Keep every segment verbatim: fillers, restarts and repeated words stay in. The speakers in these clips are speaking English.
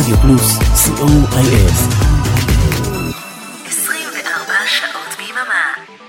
רדיו פלוס, סי או איי אס. עשרים וארבע שעות ביממה.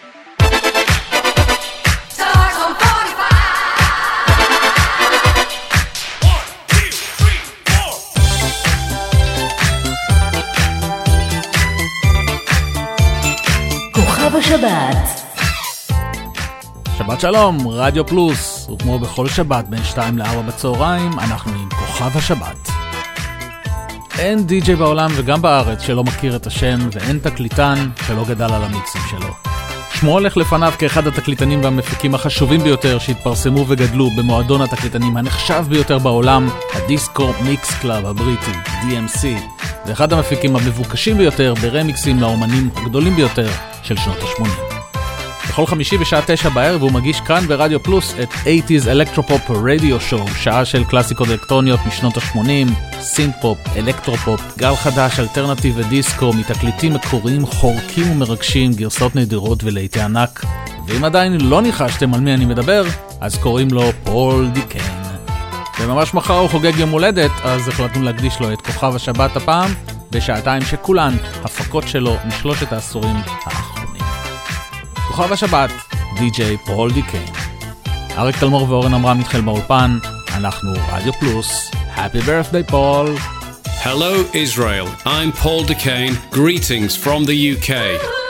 כוכב השבת. שבת שלום, רדיו פלוס, וכמו בכל שבת בין שתיים לארבע בצהריים, אנחנו עם כוכב השבת. אין די-ג'יי בעולם וגם בארץ שלא מכיר את השם, ואין תקליטן שלא גדל על המיקסים שלו. שמו הולך לפניו כאחד התקליטנים והמפיקים החשובים ביותר שהתפרסמו וגדלו במועדון התקליטנים הנחשב ביותר בעולם, הדיסקו מיקס קלאב הבריטי, די אם סי, ואחד המפיקים המבוקשים ביותר ברמיקסים לאומנים הגדולים ביותר של שנות ה-שמונים. בכל חמישי בשעה תשע בערב הוא מגיש כאן ברדיו פלוס את שמונים אלקטרופופ רדיו שואו, שעה של קלאסיקות אלקטרוניות משנות ה-שמונים, סינט-פופ, אלקטרופופ, גל חדש, אלטרנטיב ודיסקו, מתקליטים מקוריים חורקים ומרגשים, גרסות נדירות ולעיתי ענק. ואם עדיין לא ניחשתם על מי אני מדבר, אז קוראים לו פול די קיין. וממש מחר הוא חוגג יום הולדת, אז החלטנו להקדיש לו את כוכב השבת הפעם, בשעתיים שכולן הפקות שלו משלושת העשורים האחרונים. כוכב השבת, די-ג'יי פול די קיין. אריק תלמור ואורן אמרם מתחיל באולפן, אנחנו רדיו פלוס. Happy birthday, Paul. Hello, Israel. I'm Paul DeCane. Greetings from the U K.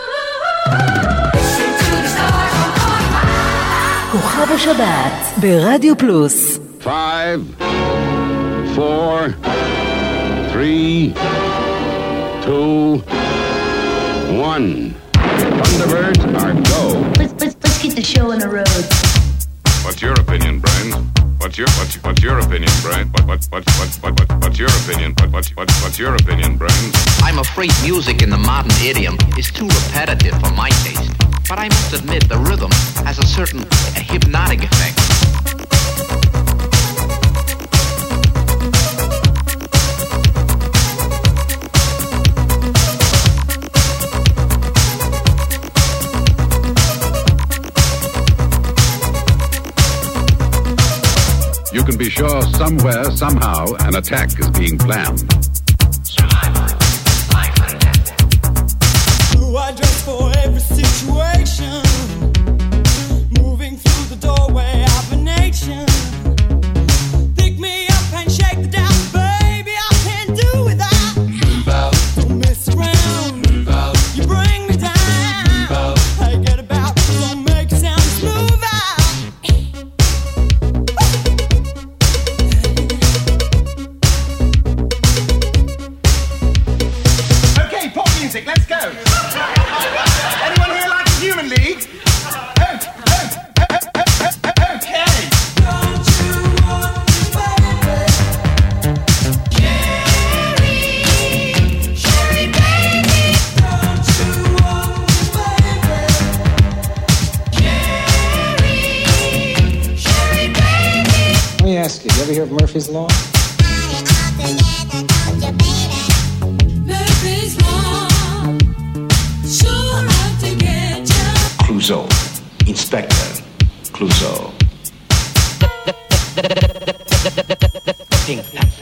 כוכב השבת ברדיו פלוס. Five, four, three, two, one. Thunderbirds are go. Let's, let's, let's get the show on the road. What's your opinion, Brian? What's your what's what's your opinion, Brian? What what what what what, what what's your opinion? What what what what's your opinion, Brian? I'm afraid music in the modern idiom is too repetitive for my taste. But I must admit the rhythm has a certain a hypnotic effect. You can be sure somewhere, somehow, an attack is being planned. Survival, life and death. Who I dress for every situation, moving through the doorway of a nation. Pick me up and shake the down, baby, I can't do without. Move out, don't mess around. Move out, you bring me down. Move out, I get about, don't make sounds. Move out. Let's go. Anyone here like a human league? Oh, oh, oh, oh, oh, okay. Don't you want me, baby? Sherry, Sherry, baby. Don't you want me, baby? Sherry, Sherry, baby. Let me ask you, you ever hear of Murphy's Law? Murphy's Law. Sure how to get you. Clouseau, Inspector Clouseau. Pink Panther.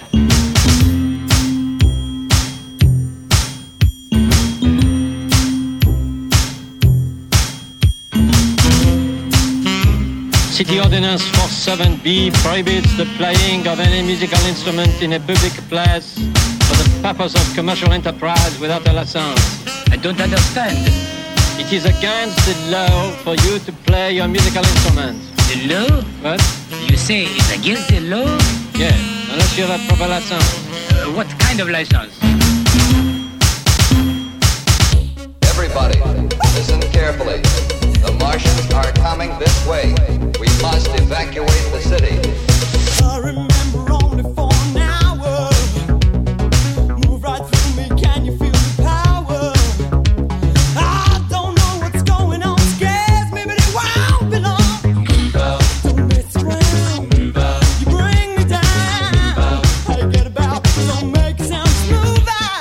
City Ordinance forty-seven B prohibits the playing of any musical instrument in a public place for the purpose of commercial enterprise without a license. I don't understand. It is against the law for you to play your musical instrument. The law? What? You say it's against the law? Yeah, unless you have a proper license. Uh, what kind of license? Everybody, listen carefully. The Martians are coming this way. We must evacuate the city. I remember only for an hour. Move right through me, can you feel the power? I don't know what's going on, scares me, but it won't be long. Move out. Don't mess around. Move out. You bring me down. Move out. I get about, don't make sounds. Move out.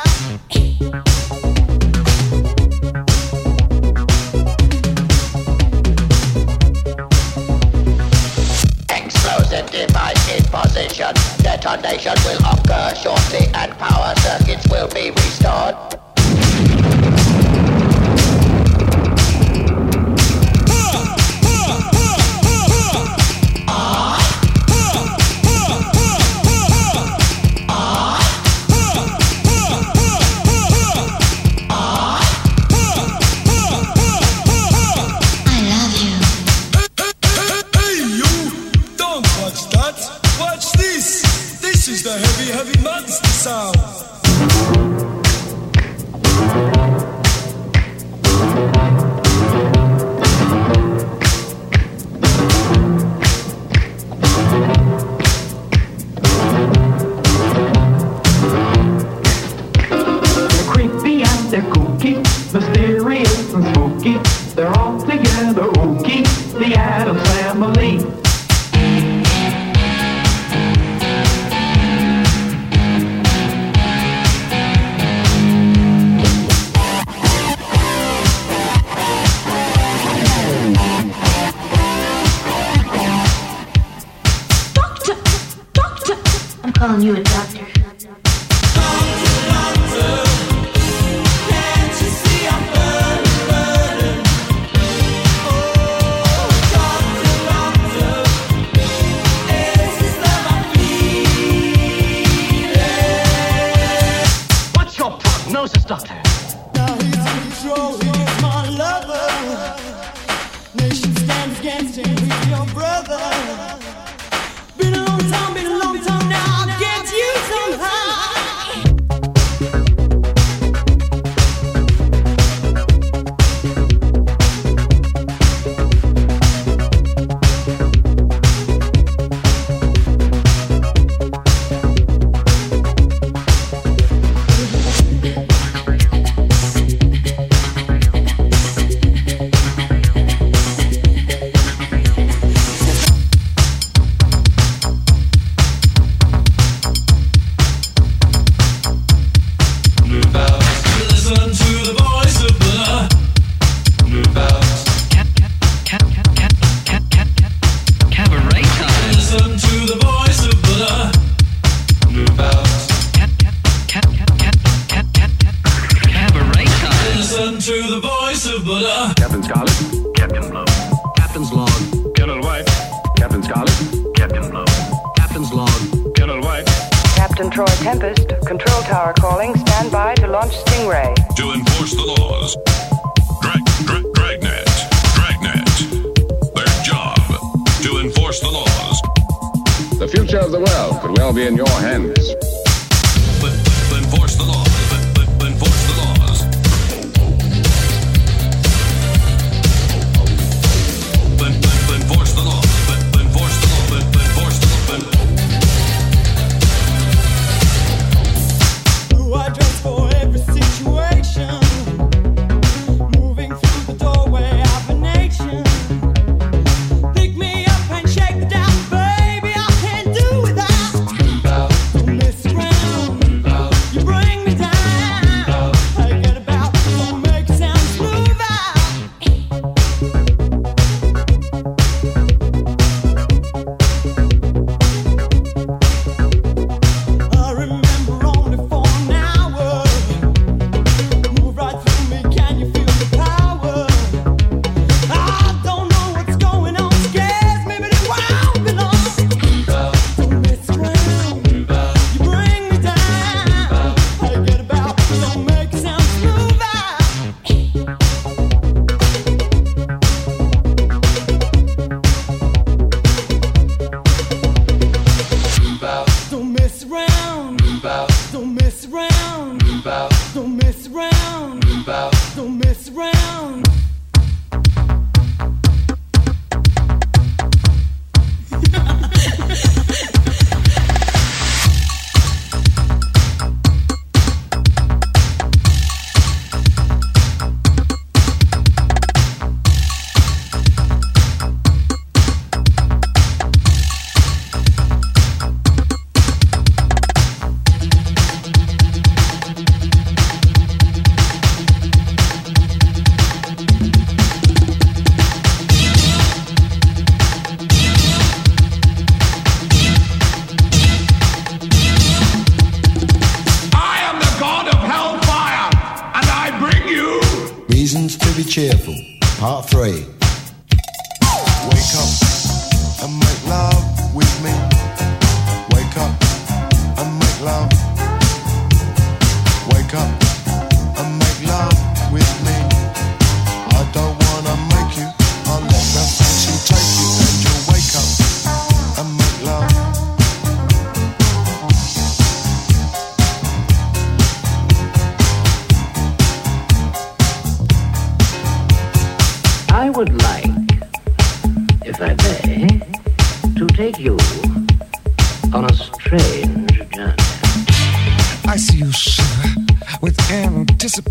present device in position. Detonation will occur shortly and power circuits will be restored. This is the heavy, heavy monster sound. They're creepy and they're kooky, mysterious and spooky. They're all together ooky, the Addams Family. Calling you a doctor. What's your prognosis, doctor? Now he's in control, he's my lover. Nation stands against him, he's your brother. Been a long time, been a long time now. I'll get you somehow. Captain Scarlet, Captain Blow. Captain's log, Colonel White. Captain Scarlet, Captain Blow. Captain's log, Colonel White. Captain Troy Tempest, control tower calling. Stand by to launch Stingray. To enforce the laws. Drag, drag, Dragnet. Dragnet. Their job. To enforce the laws. The future of the world could well be in your hands. But, but enforce the laws. But, but, but enforce the laws. But, but, but enforce the laws. But, but enforce the law. But, but enforce the law. But... Who I dress for every situation. Moving through the doorway of a nation. Pick me up and shake me down, baby. I can't do without. Don't miss me. cheerful. Part three. Wake up and make love with me. Wake up and make love. Wake up and make love with me. I don't wanna make you, I'll let the fancy take you, and you'll wake up and make love. I would like, if I may, to take you on a strange journey. I see you shiver with anticipation.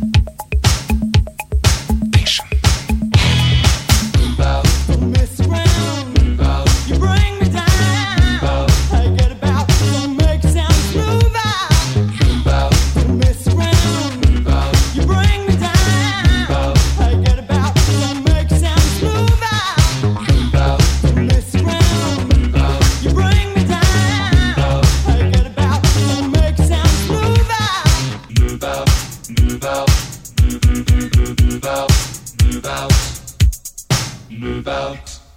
Mess around, you bring me down. I get about, don't make sounds, move out. Mess around, you bring me down. I get about, don't make sounds, move out. Mess around, you bring me down. I get about, don't make sounds, move out. Move out, move out, move, move, move, move out, move out, move out.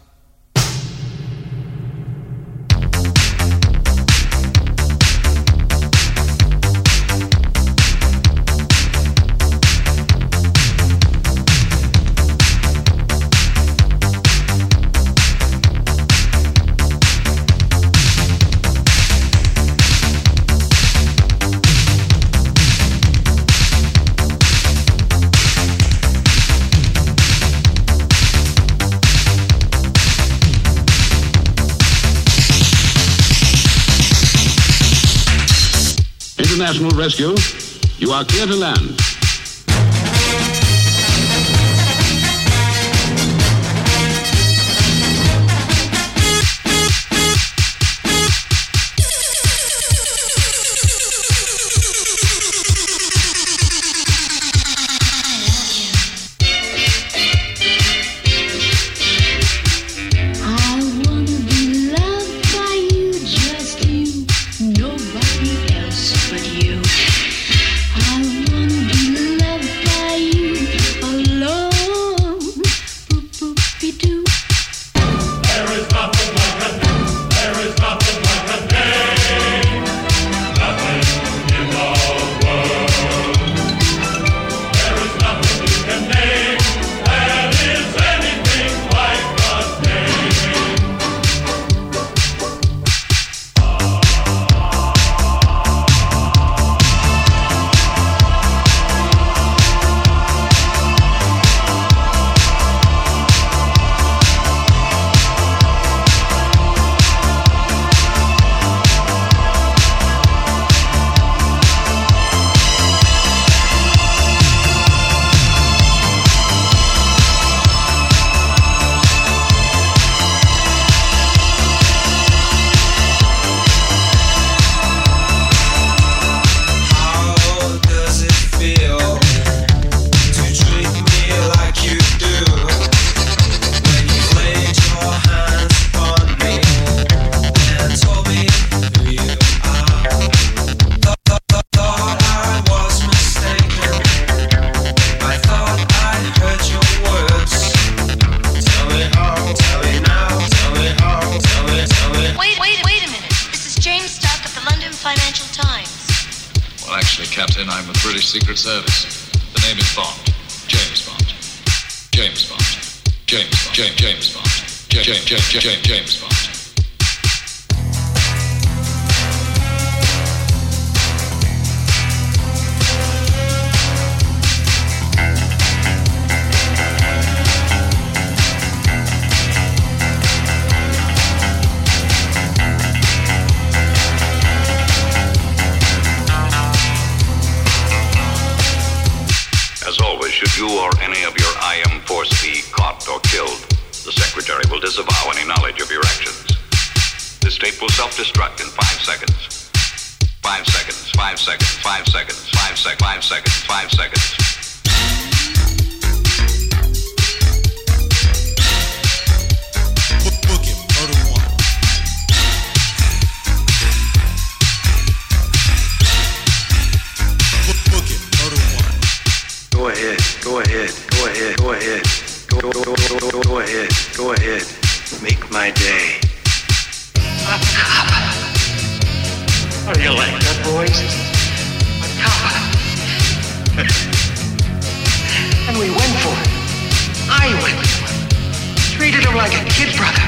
International Rescue, you are clear to land. Captain, I'm with British Secret Service. The name is Bond. James Bond. James Bond. James Bond. James James Bond. James James James James Bond. Should you or any of your I M force be caught or killed, the Secretary will disavow any knowledge of your actions. This tape will self-destruct in five seconds. Five seconds, five seconds, five seconds, five sec, five seconds, five seconds. Book, book it, murder one. Book, book it, murder one. Go ahead, go ahead, go ahead, go make my day. A cop. Are you like that, boys? A cop. And we went for it. I went for it. Treated him like a kid brother.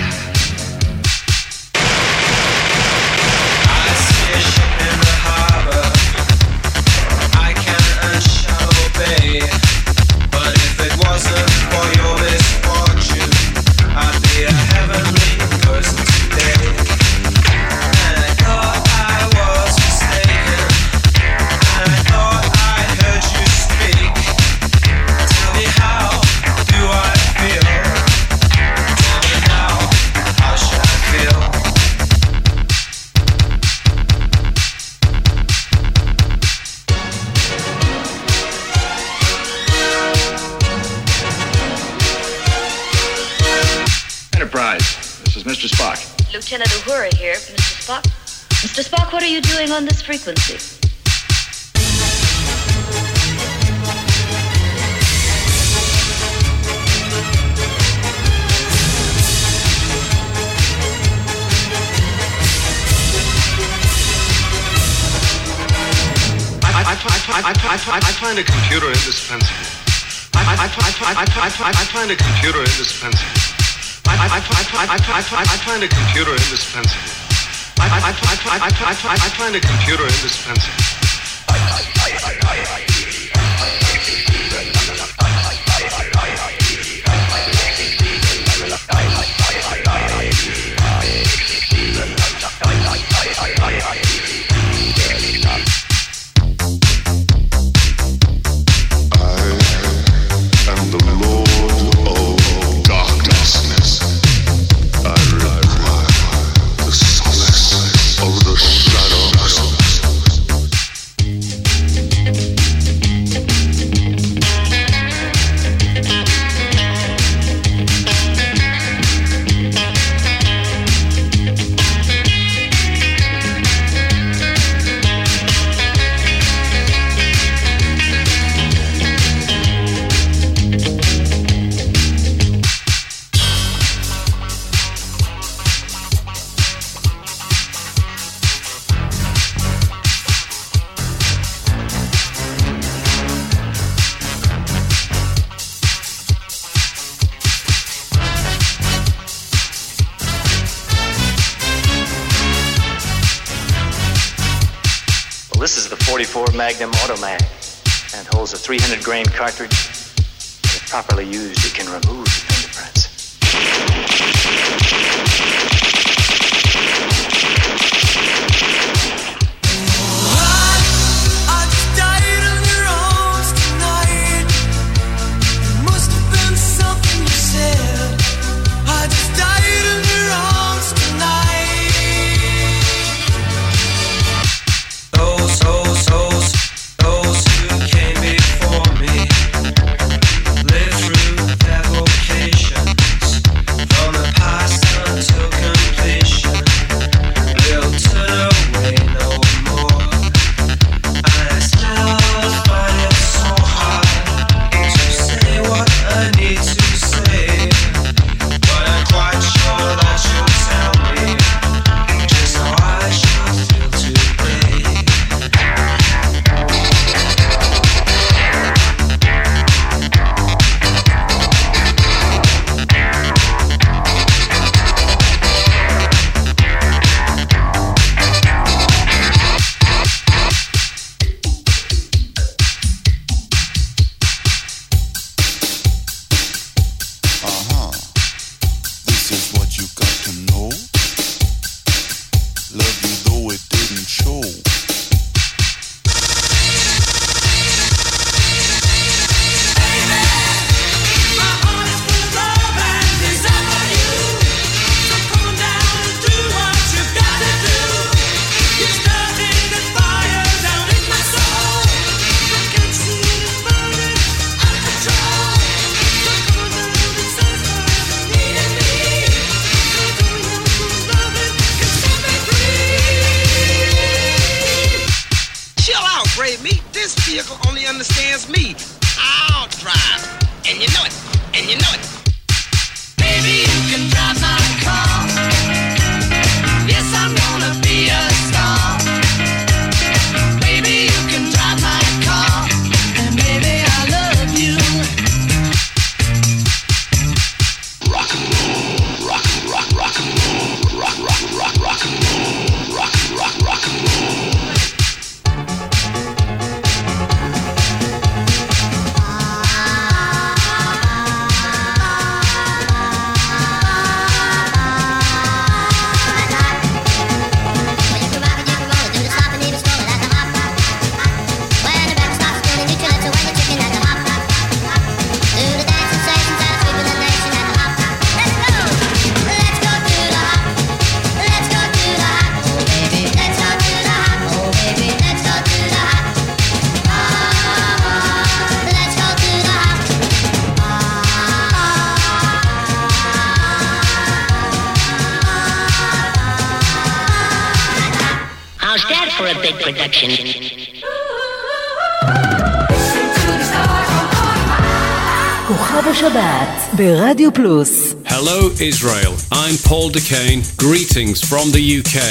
I see a ship in the harbor. I can and shall obey. But if it wasn't for your misfortune, I'd be a heavenly person today. And I thought I was mistaken. And I thought I heard you speak. Tell me, how do I feel? Tell me now, how should I feel? Enterprise, this is Mister Spock. Lieutenant Uhura here, Mister Spock. Mister Spock, what are you doing on this frequency? I, I, I, I, I, I find a computer indispensable. I, I, I, I, I, I, I find a computer indispensable. I, I, I, I, I, I, I find a computer indispensable. I, I, I, I, I, I, I find a computer indispensable. am the Lord of Darkness. I require the solace of the shadows. This is the forty-four Magnum Automag and holds a three hundred grain cartridge. If properly used, it can remove the fingerprints. Those who came before me lived through their vocation. for a big production. כוכב השבת ברדיו פלוס. Hello Israel, I'm Paul DeCane. Greetings from the U K.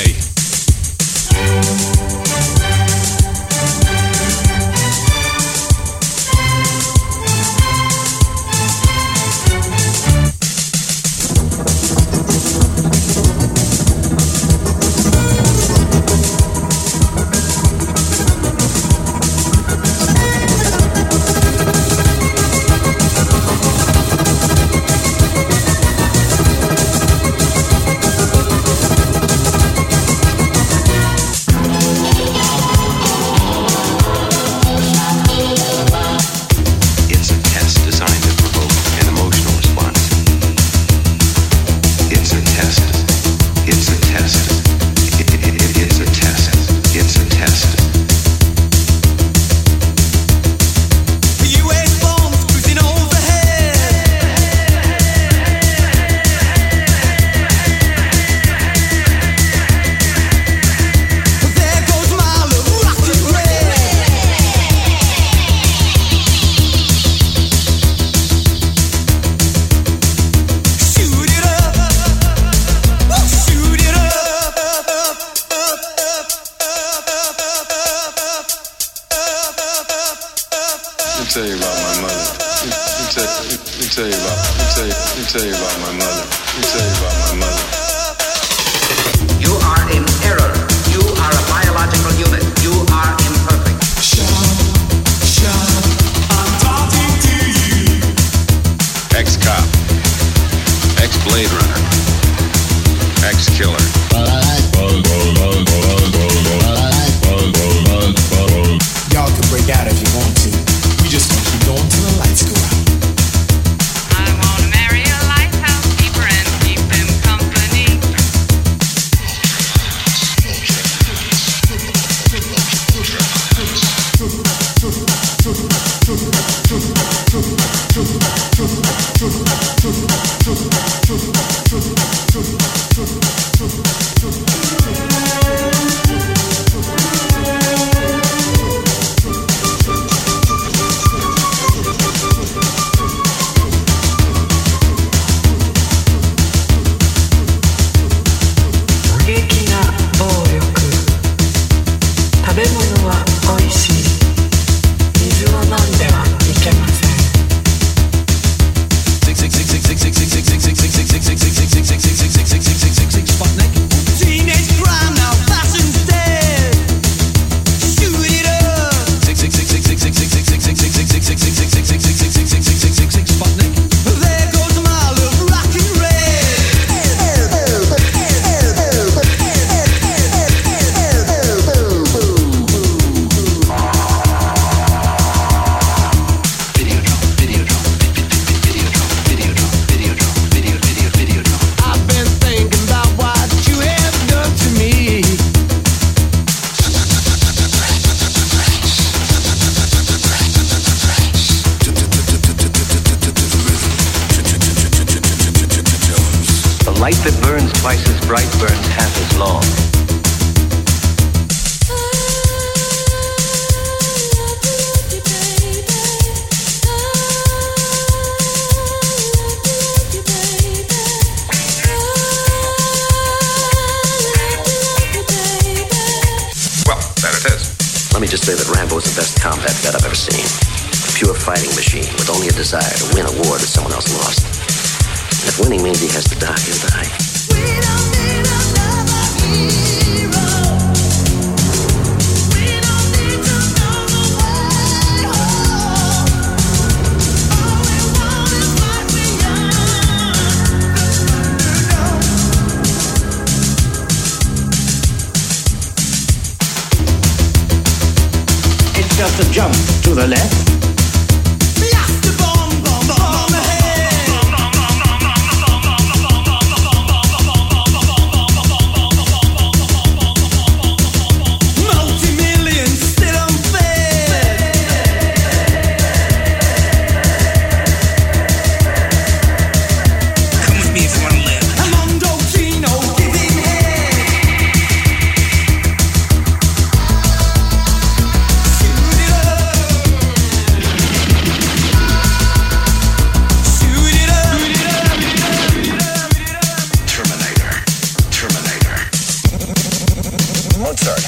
concert.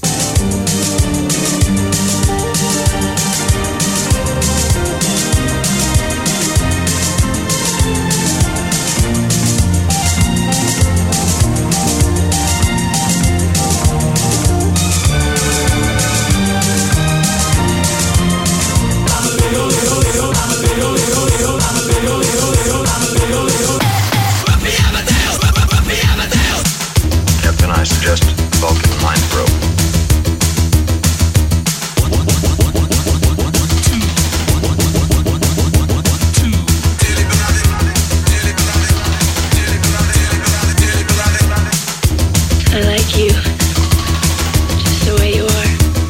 Captain, I suggest Vulcan mind probe. I like you, just the way you are.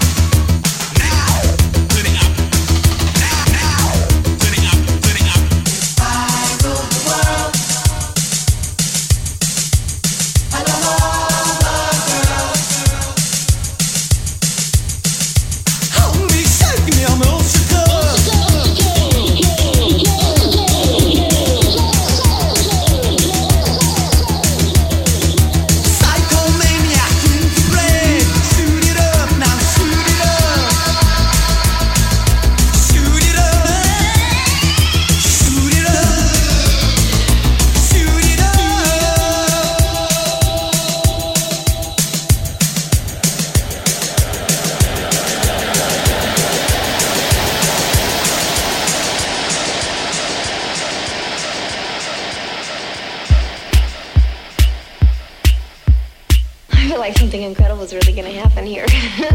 I feel like something incredible is really gonna happen here.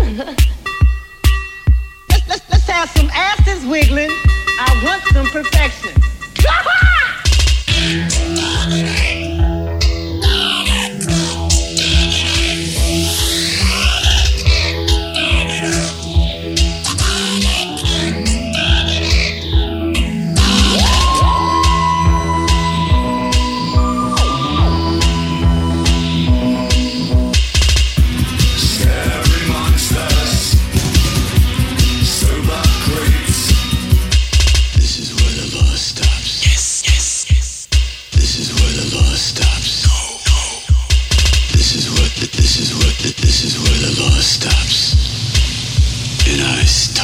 Let's, let's, let's have some asses wiggling. I want some perfection. Scary monsters, sober creeps. This is where the law stops. Yes, yes, yes. This is where the law stops. No, no, no. This is what. The, this is what. The, this is where the law stops. And I start.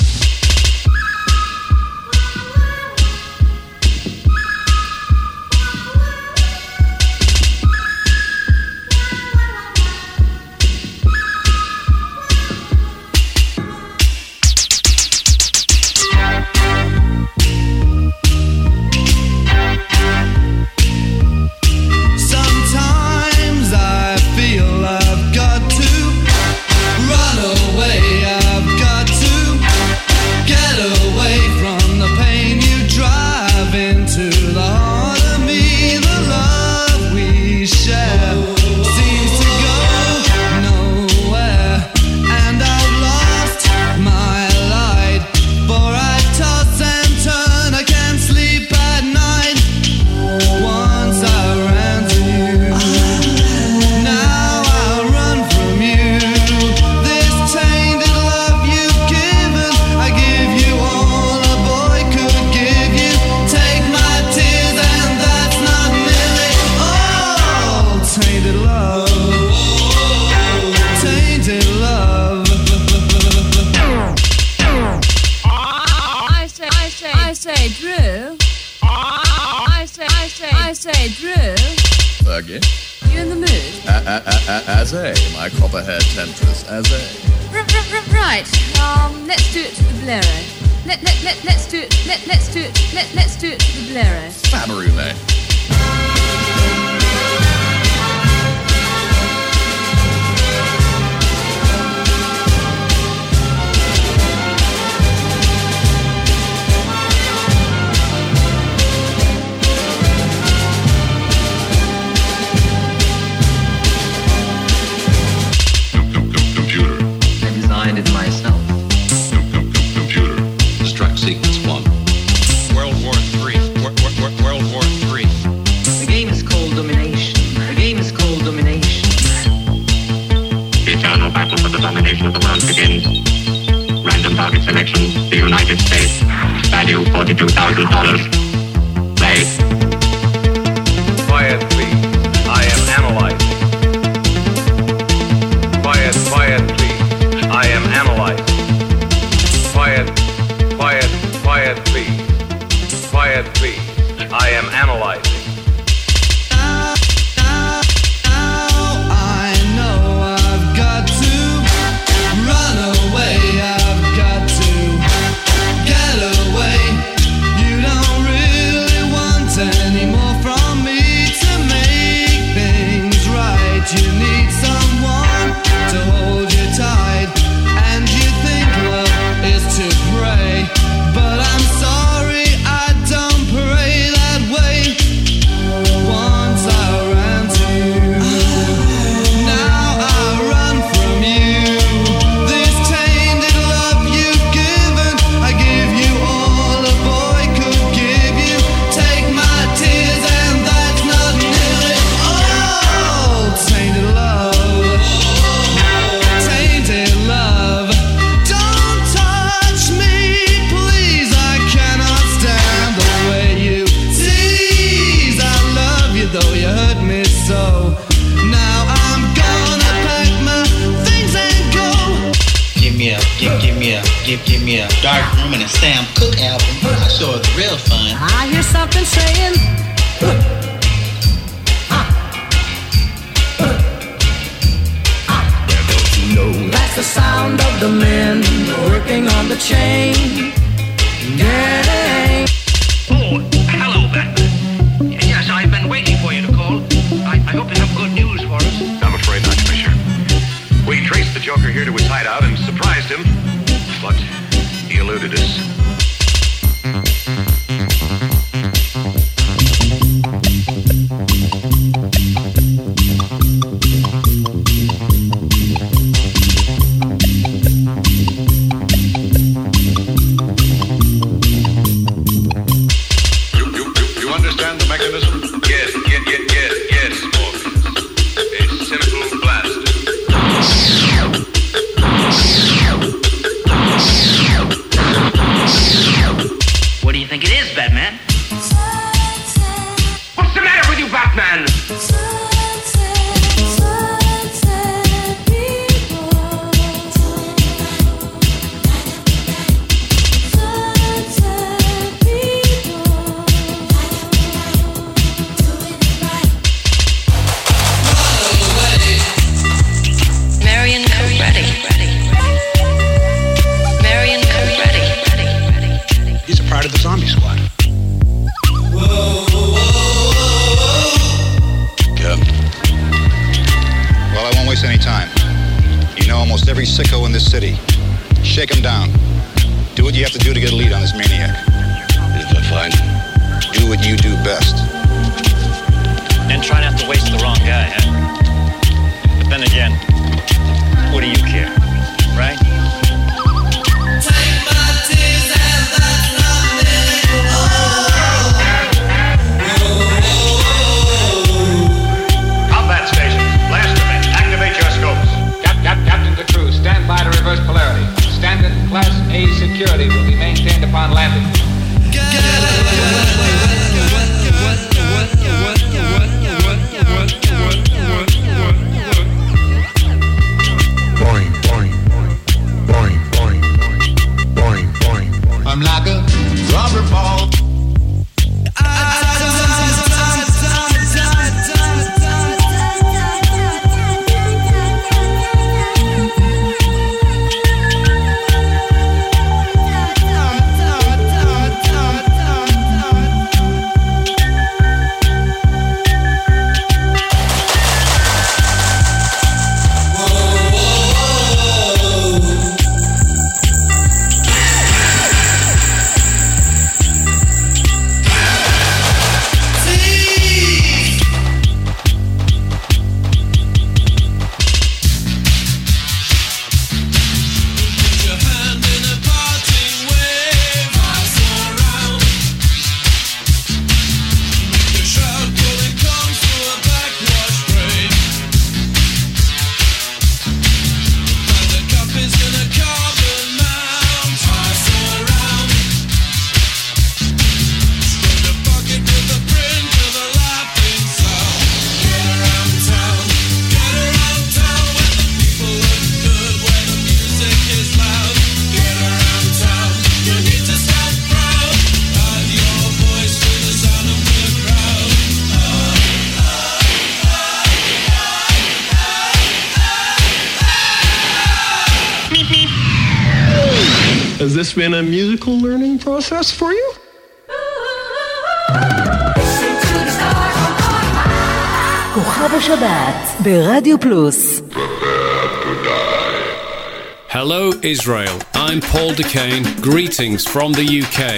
Sometimes I feel I've got to run away. I've got to get away from the pain you drive into the heart of me. The love we share seems to go nowhere, and I've lost my light. For I toss and turn, I can't sleep at night. Once I ran to you, now I run from you. This tainted love you've given, I give you all a boy could give you. Take my tears and that's not nearly all. Tainted love, tainted love. I say, I say, I say, Drew. I say, I say, I say, Drew. Again? You in the mood? As a, my copper-haired temptress, as a. R- r- r- right. Um, let's do it to the bolero. Let let let let's do it. Let let's do it. Let let's do it to the bolero. Fabarule. Computer. I designed it myself. Computer. Destruct sequence one. World War Three. World War Three. The game is called domination. The game is called domination. The eternal battle for the domination of the world begins. Random target selection. The United States. Value forty-two thousand dollars. Play. Quiet, please. I am analyzing. Quiet, quiet. hear a Dark Room and a Sam Cooke album. I sure it's real fun. I hear something saying. That's the sound of the men working on the chain gang. Oh, hello, Batman. Yes, I've been waiting for you to call. I, I hope you have good news for us. I'm afraid not, Commissioner. We traced the Joker here to his hideout and surprised him, but he eluded us. Sicko in this city. Shake him down. Do what you have to do to get a lead on this maniac. If I find, do what you do best. And try not to waste the wrong guy, huh? But then again, what do you care, right? Take my tears and that's not living. Oh. Combat station, Blasterman, activate your scopes. Cap, cap, Captain to crew, stand by to reverse polarity. Standard Class A security will be maintained upon landing. Boing, boing, boing, boing, boing, boing. I'm like a rubber ball. Has this been a musical learning process for you? כוכב השבת ברדיו פלוס. Hello Israel, I'm Paul Duquesne, greetings from the U K.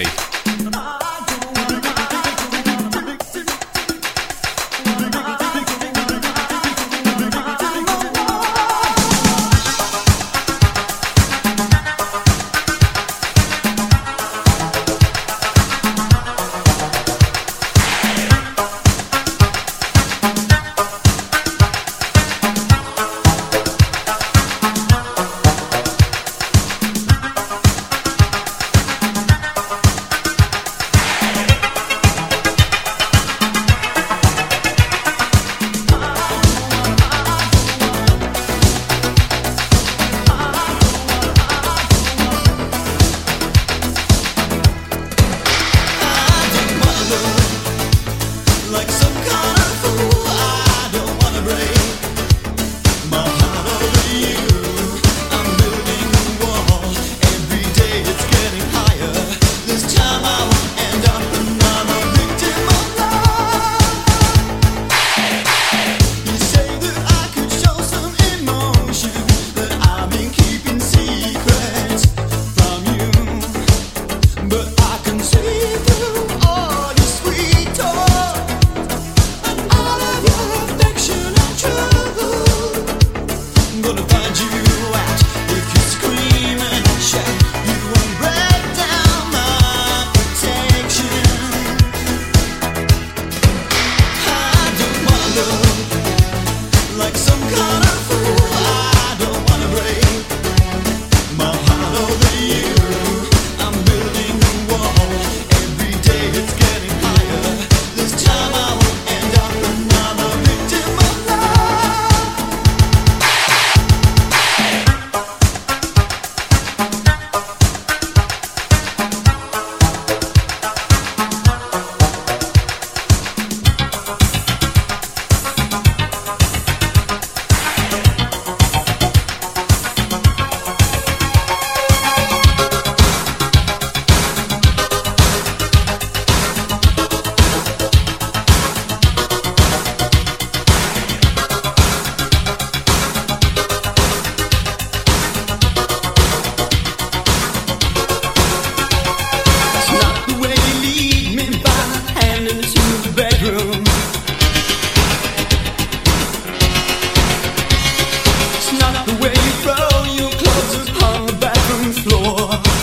the way you throw your clothes upon the bathroom floor.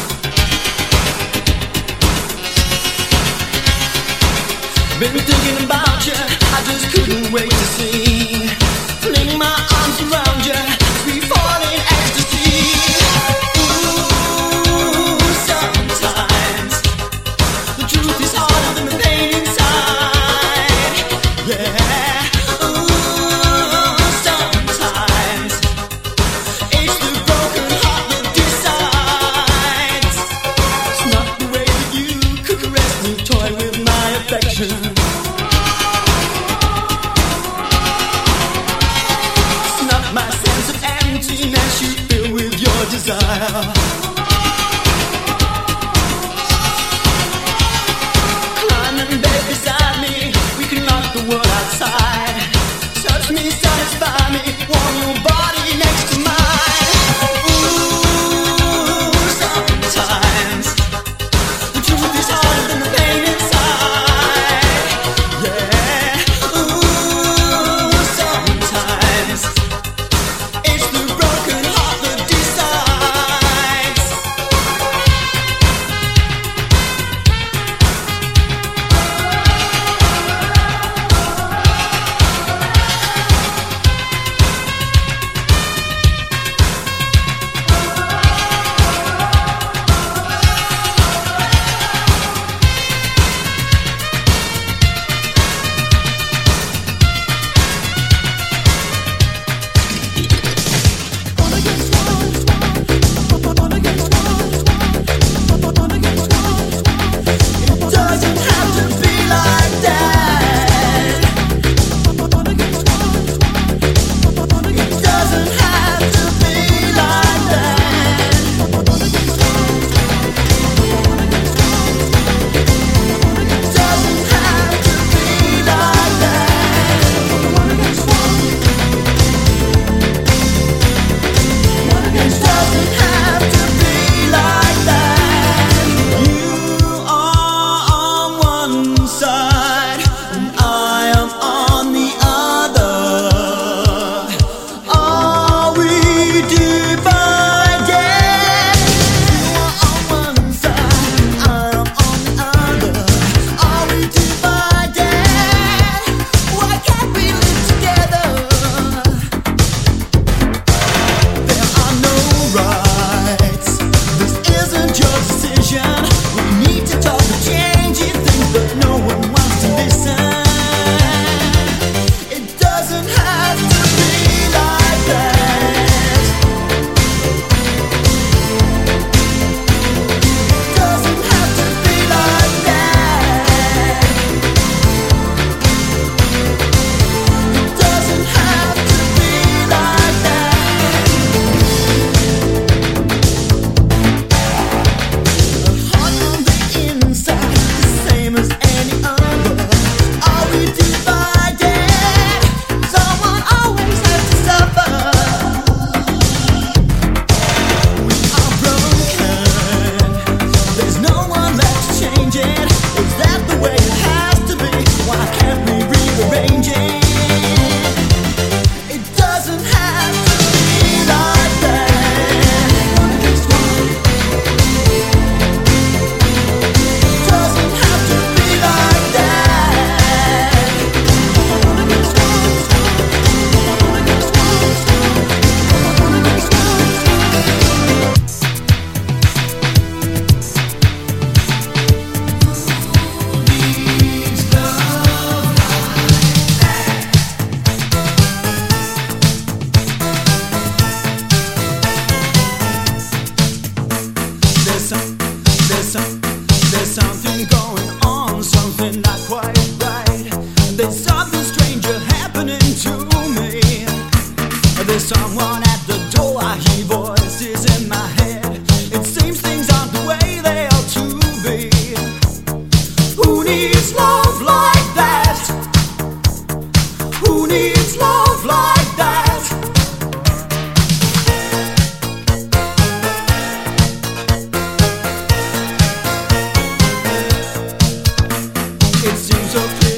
Been thinking about you, I just couldn't wait to see. Fling my arms around you, we fall in ecstasy. Ooh, sometimes the truth is harder than the pain inside. Yeah. Ooh, sometimes it's the broken heart that decides. It's not the way that you could caress me, toy with my affection. My sense of emptiness you fill with your desire. Climb in bed beside me, we can lock the world outside. Touch me, satisfy me, warm your body next to mine. Ooh, sometimes the truth is harder than the pain inside. Yeah, ooh, sometimes it's the broken heart that decides.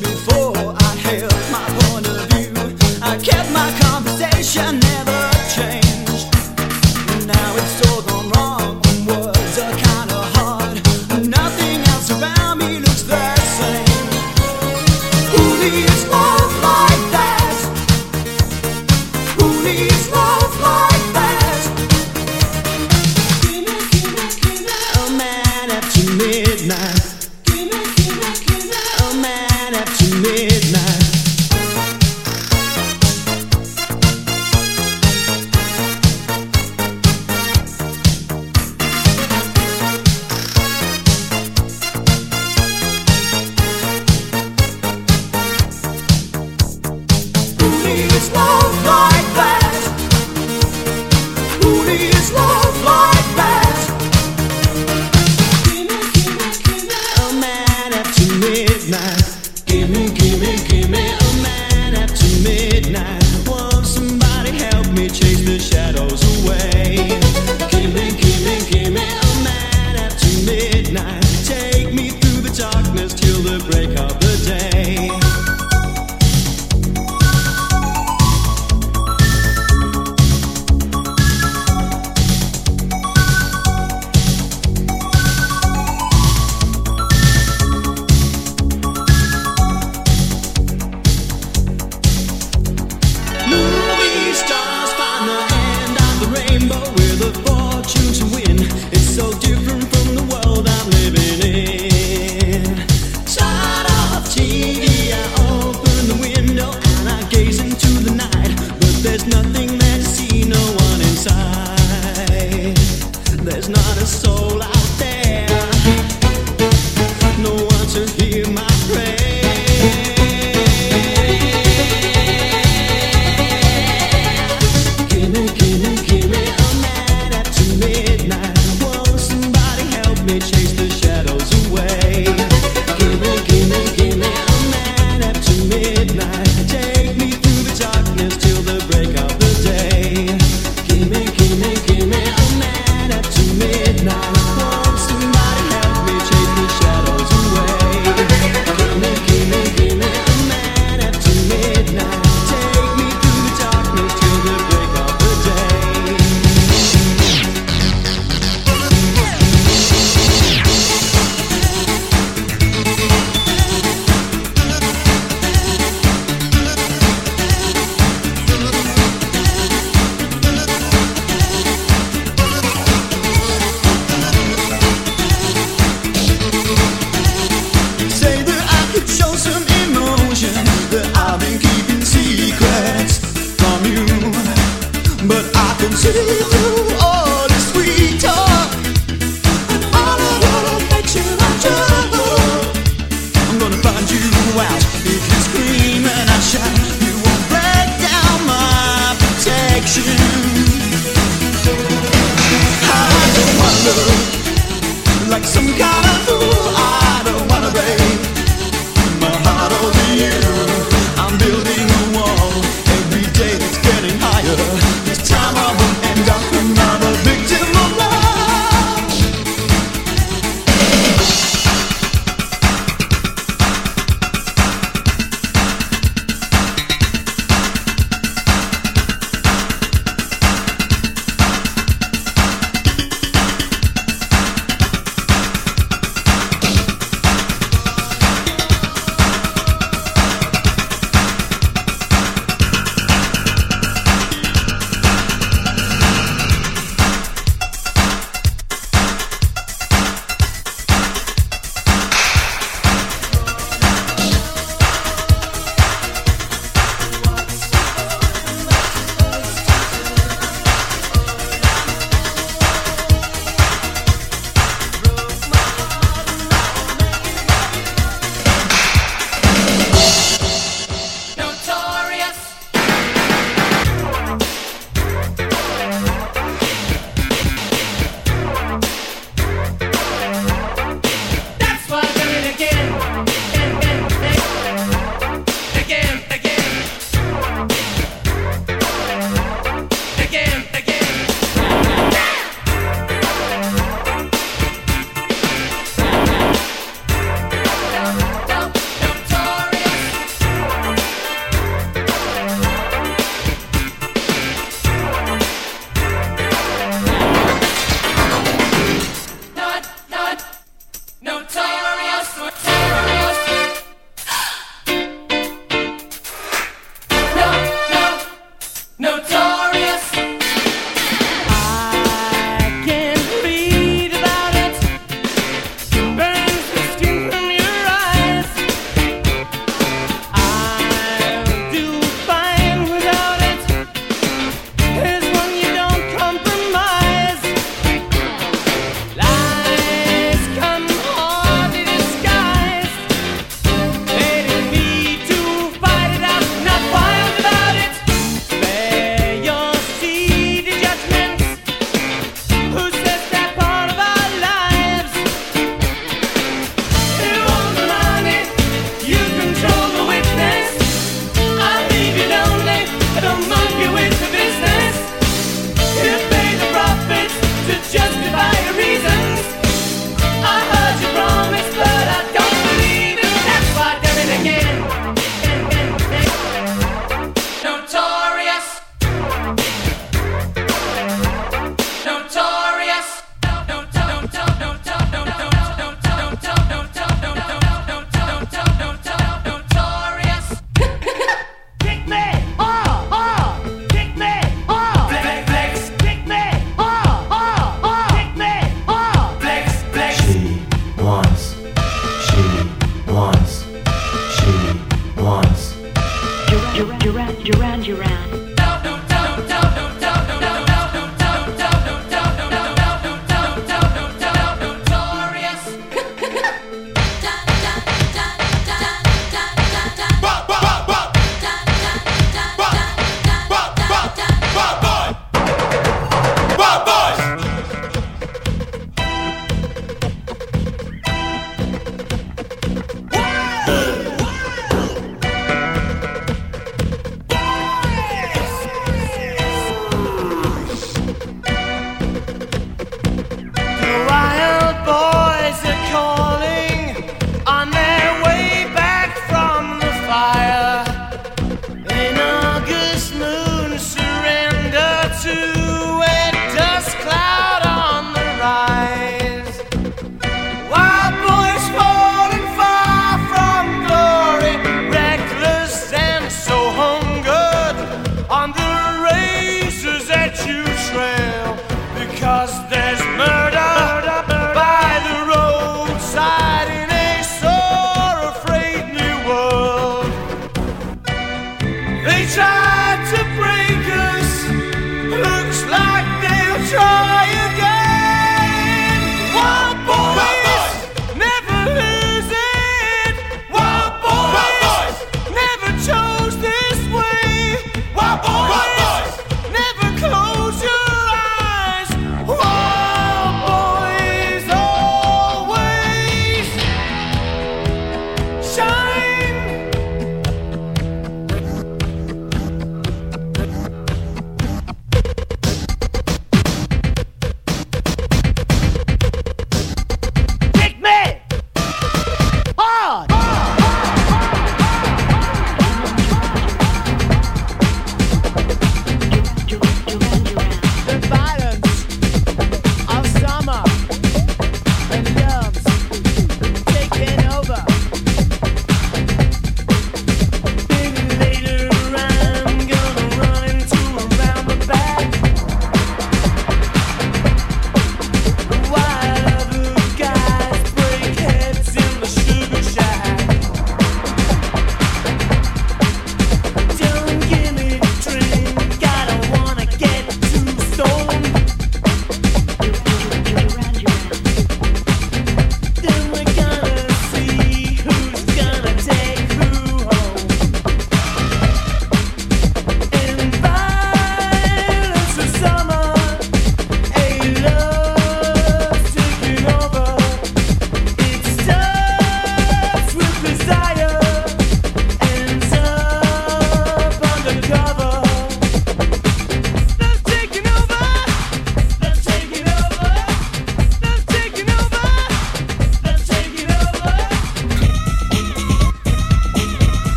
I kept my conversation, never changed.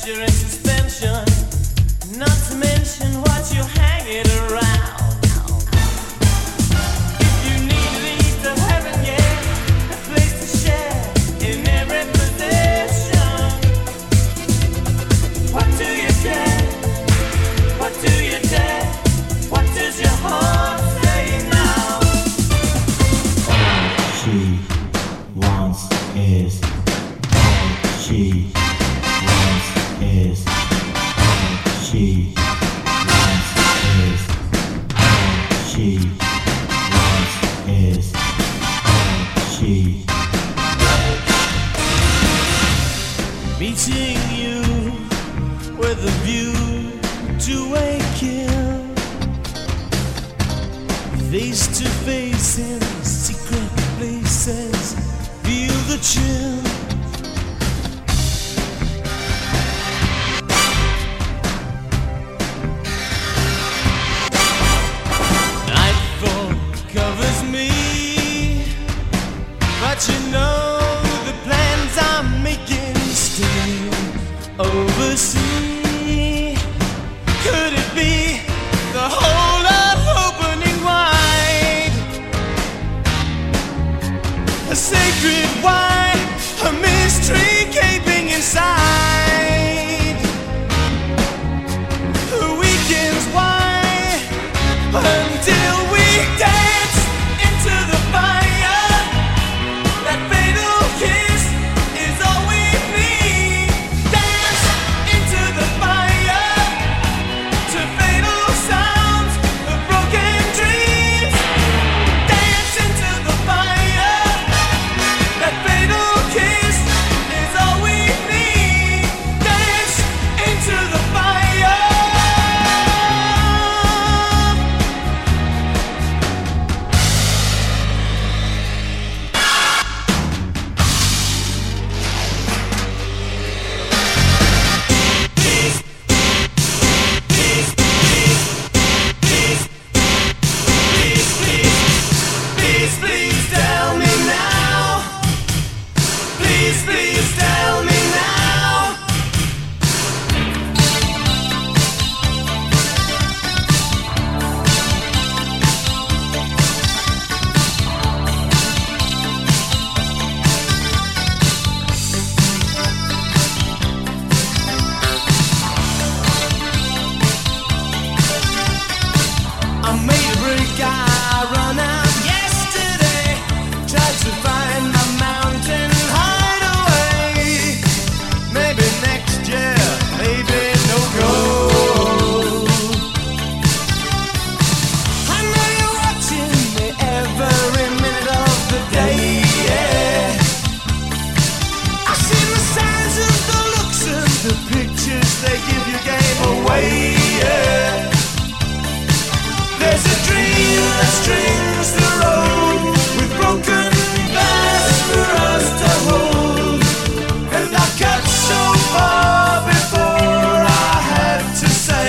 you're in suspension. Not to mention what you're hanging around. If you need to lead to heaven, yeah, a place to share in every possession. What do you care? What do you dare? What does your heart say now? All she wants is, all she wants is, all she wants is, all she wants is, all she. Meeting you with a view to a kill, face to face in secret places, feel the chill. Nightfall covers me, but you know the plans I'm making still oversee. Could it be the whole lot opening wide? A sacred wine, a mystery gaping inside. The weekends why until we dance into the fire. That fatal kiss is all we need. Dance into the fire to fatal sounds of broken dreams. Dance into the fire. That fatal kiss is all we need. Dance into the fire. Please, please tell me now. Please, please tell me now. I made a break, I run out yesterday. Tried to find my mountain hideaway. Maybe next year, maybe no go. I know you're watching me every minute of the day, yeah. I see the signs of the looks and the pictures they give you gave away, yeah. There's a dream that strings the road with broken glass for us to hold. And I got so far before I had to say,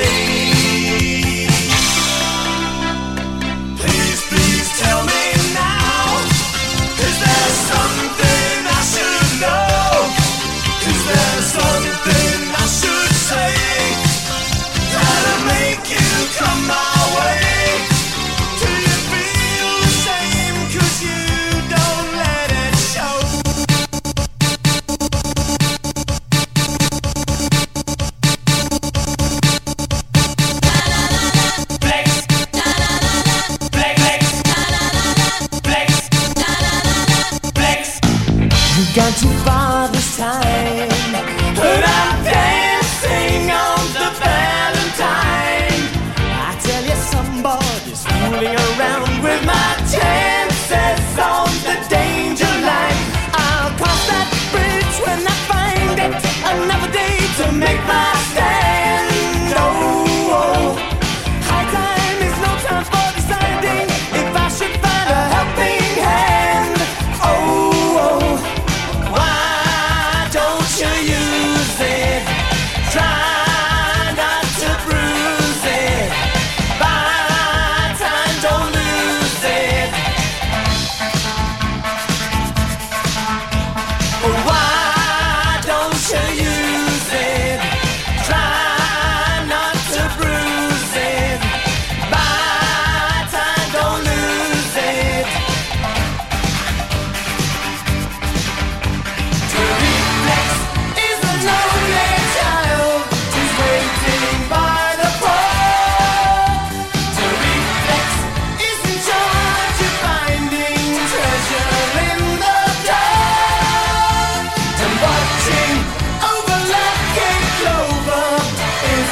please, please tell me now. Is there something I should know? Is there something I should say that'll make you come my way? Do you feel the same?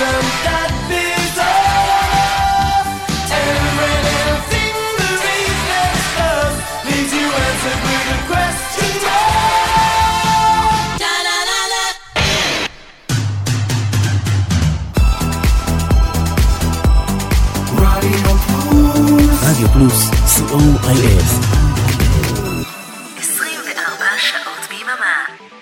Isn't that bizarre? Every little thing the reflex does leaves you answered with a question mark. Da da da da. Radio Plus. רדיו פלוס, סי או איי אס. עשרים וארבע שעות ביממה.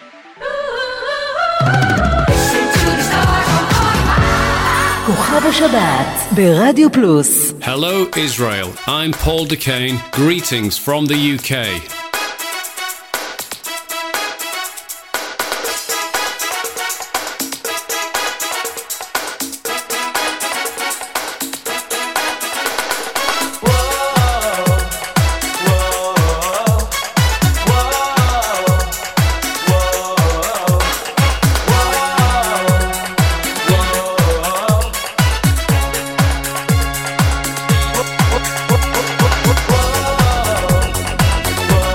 כוכב השבת ברדיו פלוס. Hello Israel, I'm Paul DeCane. Greetings from the U K. Whoa.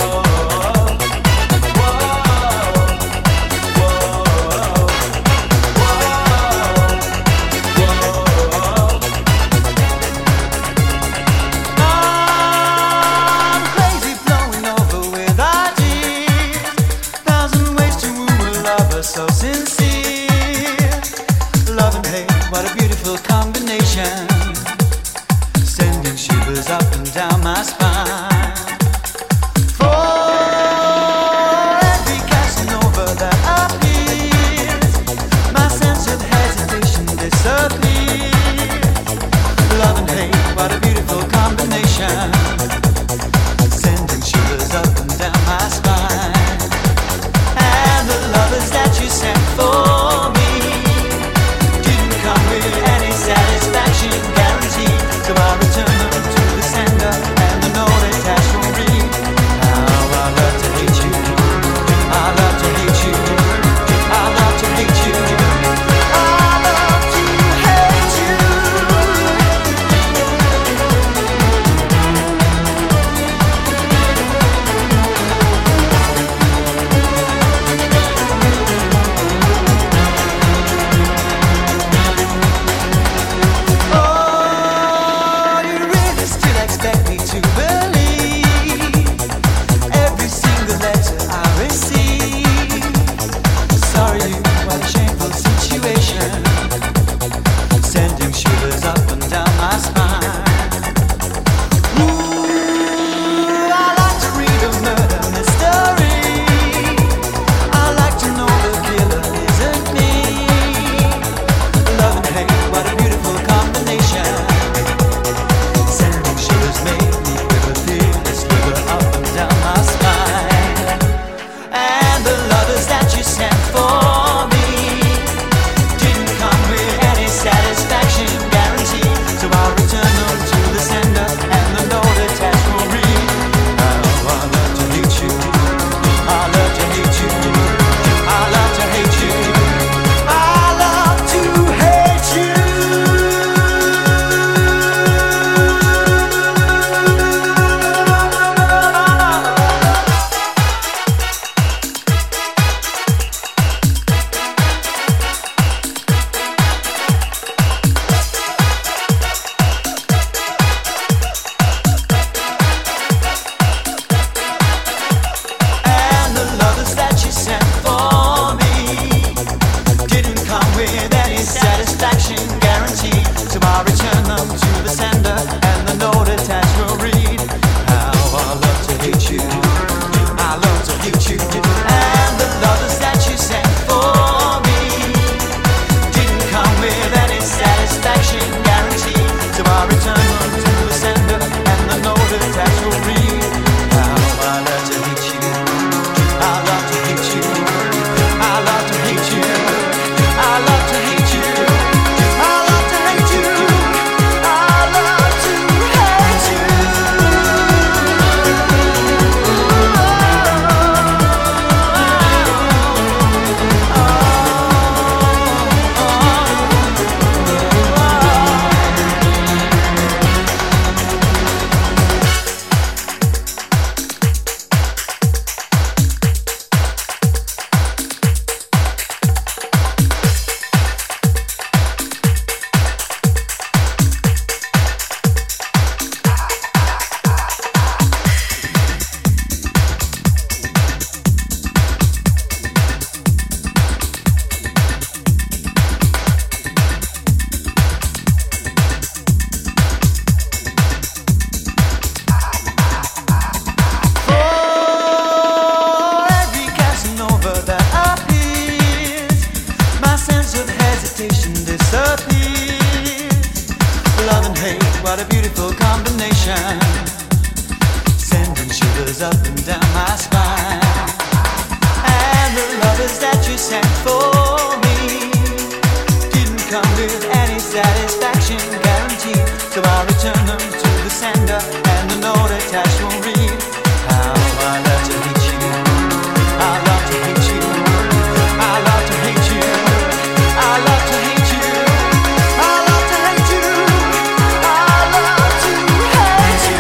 what a beautiful combination, sending shivers up and down my spine. And the lovers that you sent for me didn't come with any satisfaction guarantee, so I'll return them to the sender, and the note attached will read, how I love to hate you, I love to hate you, I love to hate you, I love to hate you, I love to hate you, I love to hate you.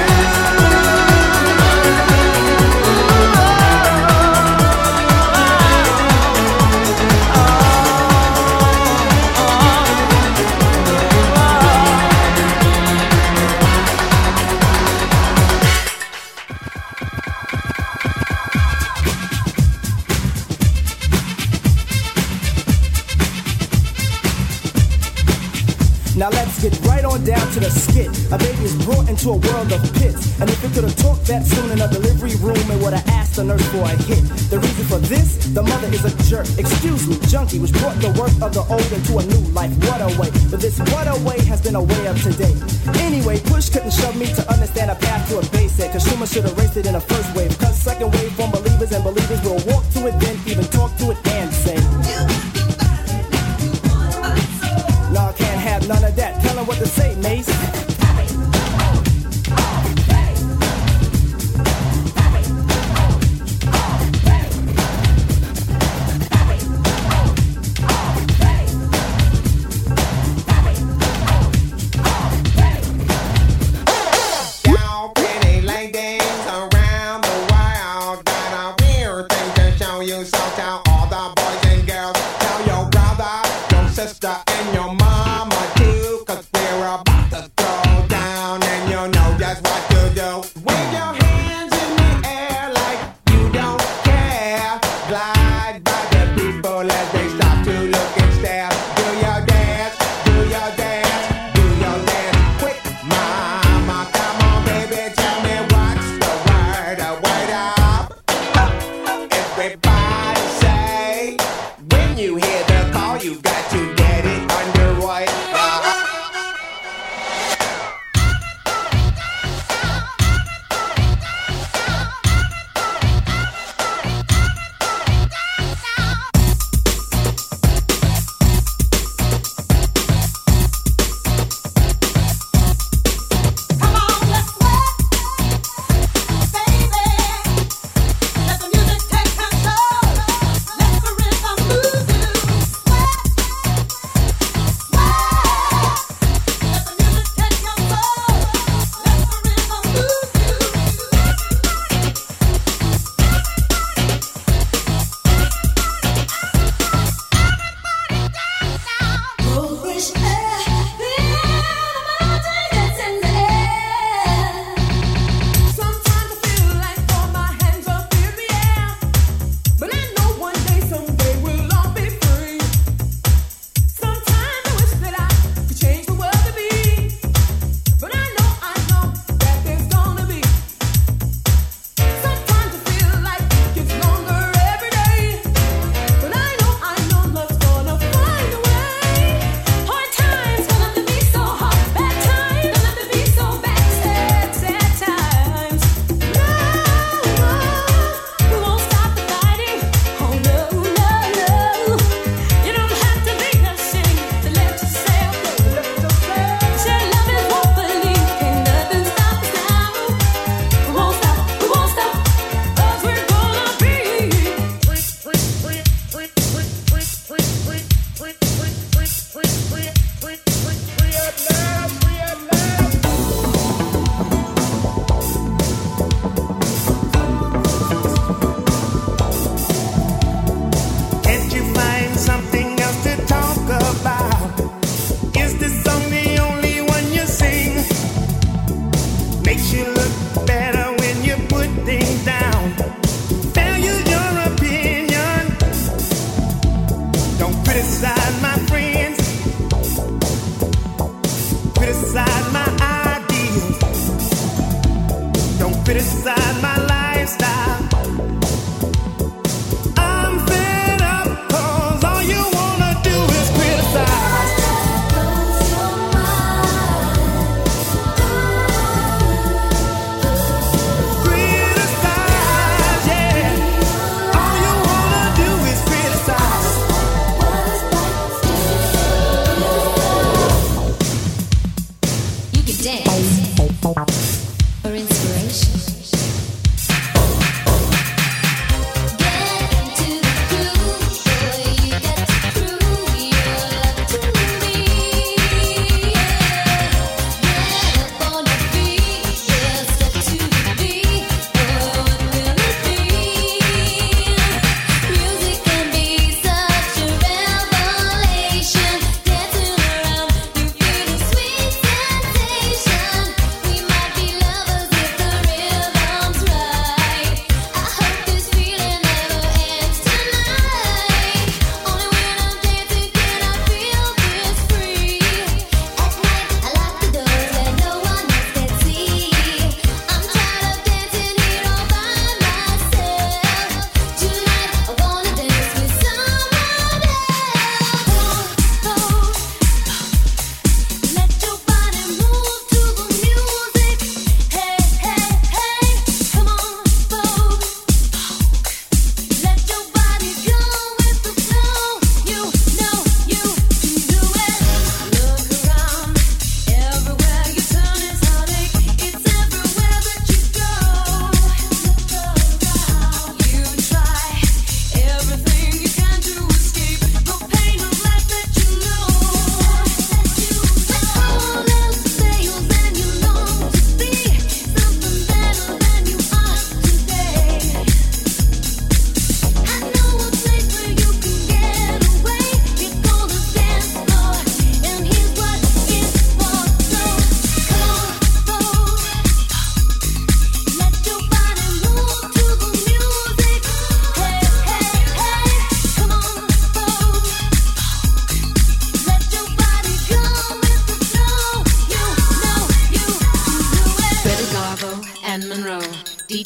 Now let's get right on down to the skit. A baby is brought into a world of pits, and if it could have talked that soon in a delivery room, it would have asked the nurse for a hit. The reason for this, the mother is a jerk. Excuse me, junkie, which brought the worth of the old into a new life. What a way, but this what a way has been a way of today. Anyway, push couldn't shove me to understand a path to a basic. Consumers should have raced it in a first wave, cause second wave from believers and believers will walk to it, then even talk to it and say, no, I can't have none of that. Tell them what to say, Mace. Y'all pretty ladies around the world got a weird thing to show you, so tell all the boys and girls, tell your brother, your sister, and your mama too, cause we're about to throw down, and you know just what to do. Wave your hands in the air like you don't care. Glide by the people as they stop to look and stare. Do your dance, do your dance, do your dance quick, mama. Come on, baby, tell me what's the word. A word up. Everybody say, when you hear the call, you got to get it underway. Can't you find something else to talk about? Is this song the only one you sing? Makes you look better when you put things down. Value your opinion. Don't criticize my friends. Criticize my ideas. Don't criticize my lifestyle. I'm fed up, cause all you wanna do is criticize.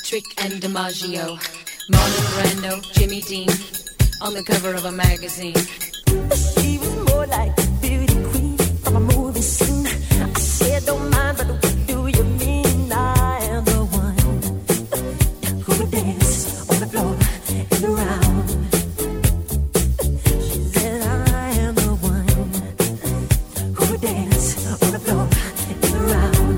Trick and DiMaggio, Marlon Brando, Jimmy Dean, on the cover of a magazine. She was more like a beauty queen from a movie scene. I said, don't mind, but what do you mean? I am the one who would dance on the floor and around. She said, I am the one who would dance on the floor and around.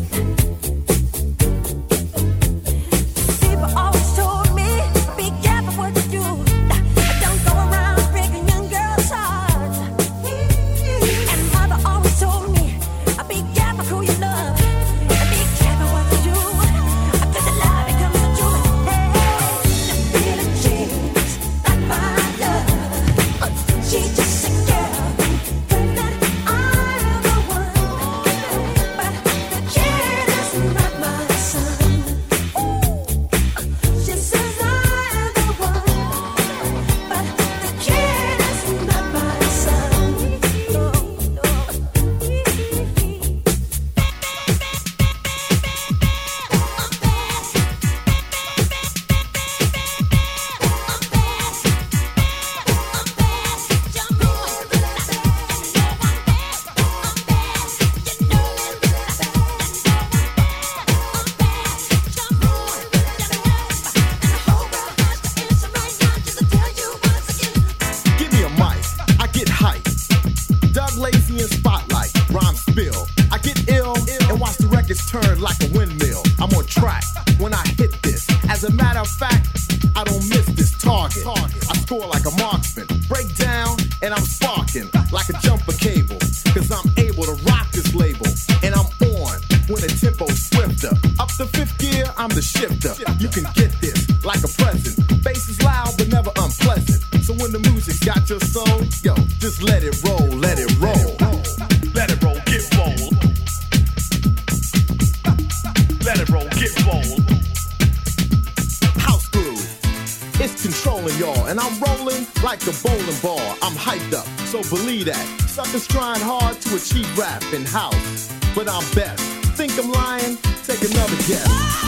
People always told me, be careful what you do. Don't go around breaking young girls' hearts. And mother always told me, be careful who you love. And be careful what you do. Cause the love becomes the truth. Hey, Billie Jean's not my love. She's just a girl. And that I am the one. But the kid is not my son. She says I am the one. But the kid is not my son. No, no. Give me a mic, I get hype. Doug Lazy in spotlight, rhyme spill. I get ill and watch the records turn like a windmill. I'm on track when I hit this. As a matter of fact, I don't miss this target. I score like a marksman, break down and I'm sparking like a jumper cable. Cause I'm able to rock this label and I'm on when the tempo's swifter. Up the fifth gear, I'm the shifter. You can get this like a present. Bass is loud but never unpleasant. So when the music's got your soul, yo, just let it roll, let it roll. Let it roll, get roll. Let it roll, get roll. House groove, it's controlling y'all. And I'm rolling like a bowling ball. I'm hyped up, so believe that. Suckers trying hard to achieve rap in house, but I'm best. Think I'm lying? Take another guess.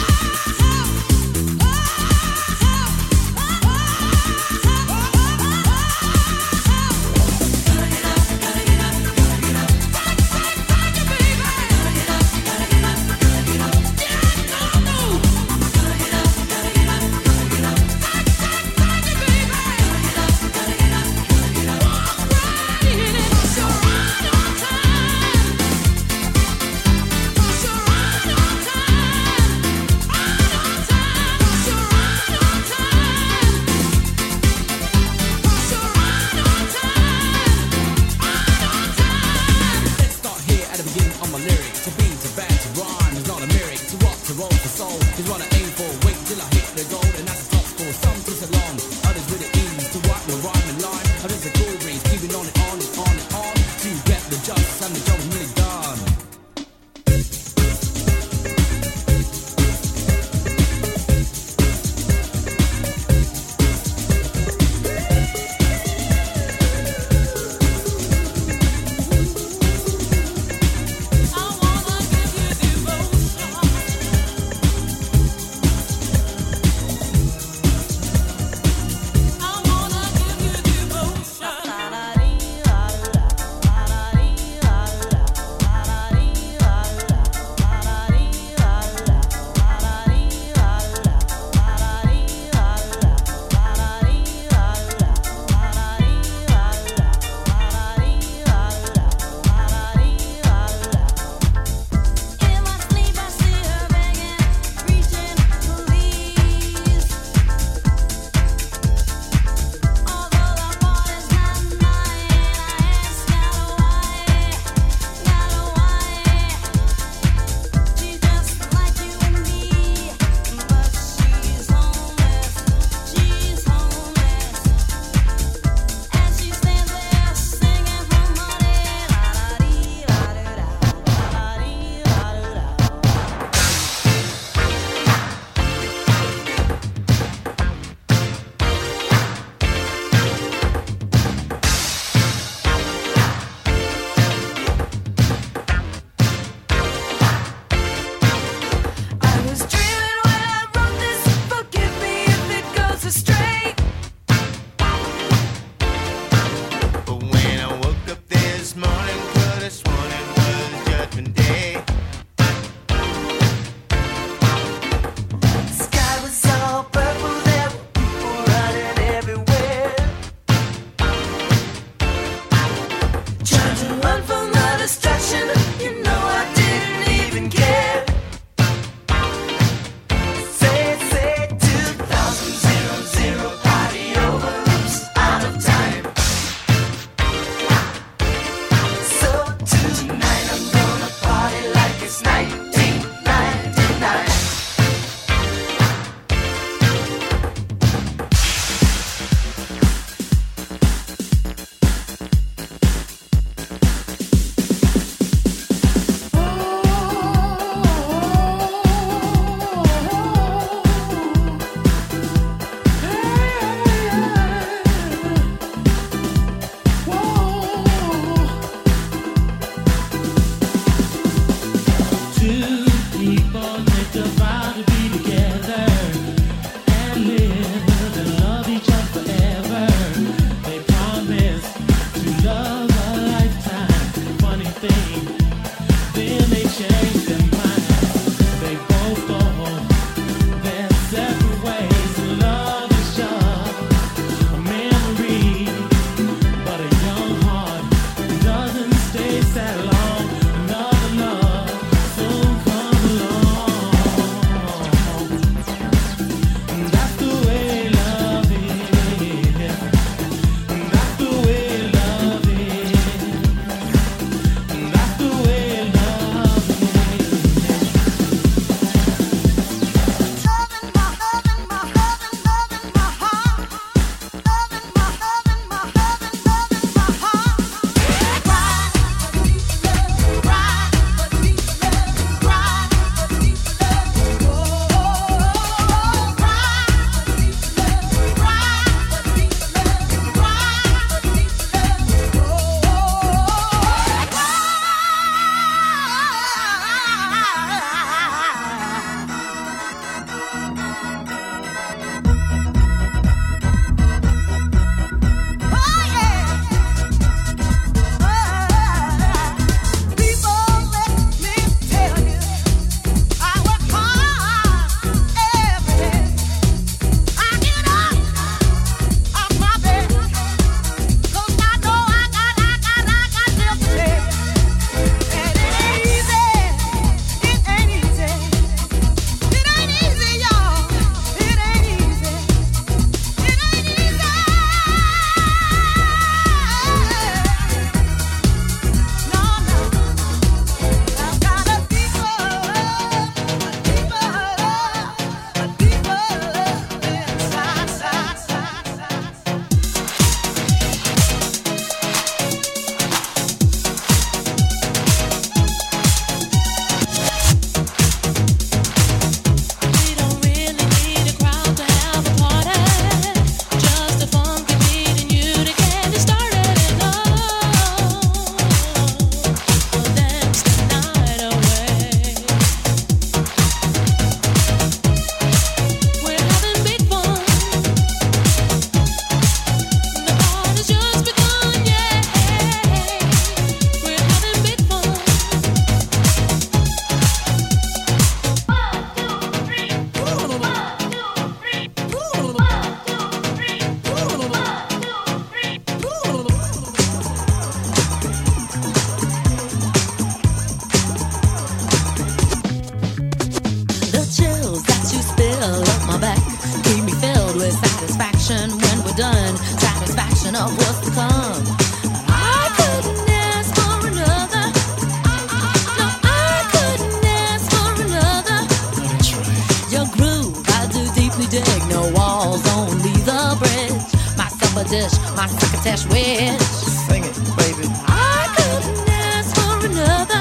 dish, my crocketesh wish. Sing it, baby. I couldn't ask for another.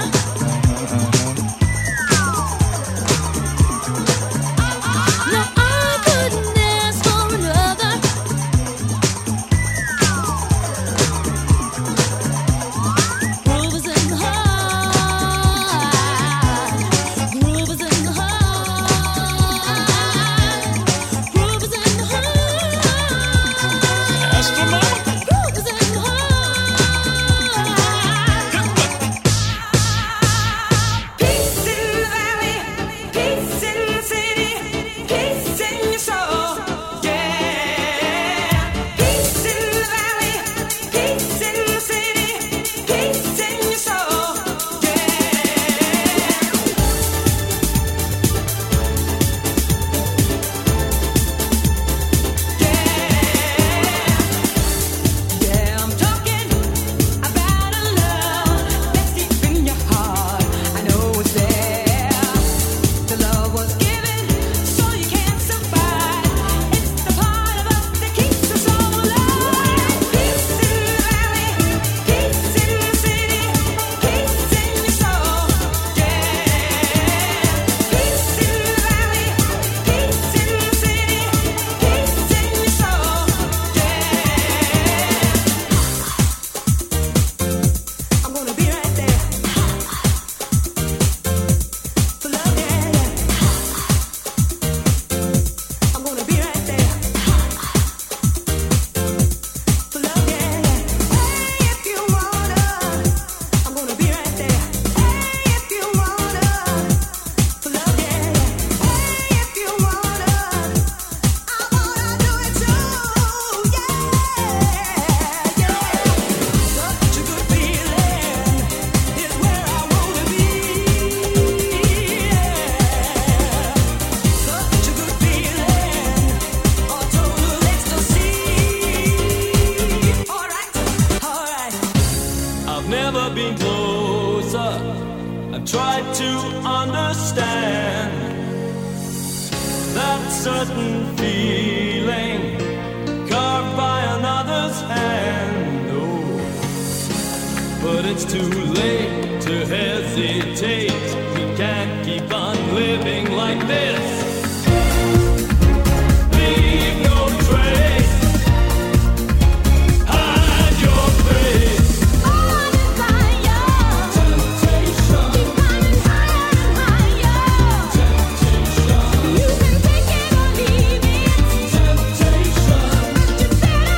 No, I couldn't ask for another. Groove is in the heart. Groove is in the heart. Groove is in the heart. Astronomical. Groove is in the heart. closer. I've tried to understand that certain feeling carved by another's hand. Oh, but it's too late to hesitate. We can't keep on living like this. Leave no trace. Hide your face. On and higher. Temptation. Keep climbing higher and higher. Temptation. You can take it or leave it. Temptation. But you better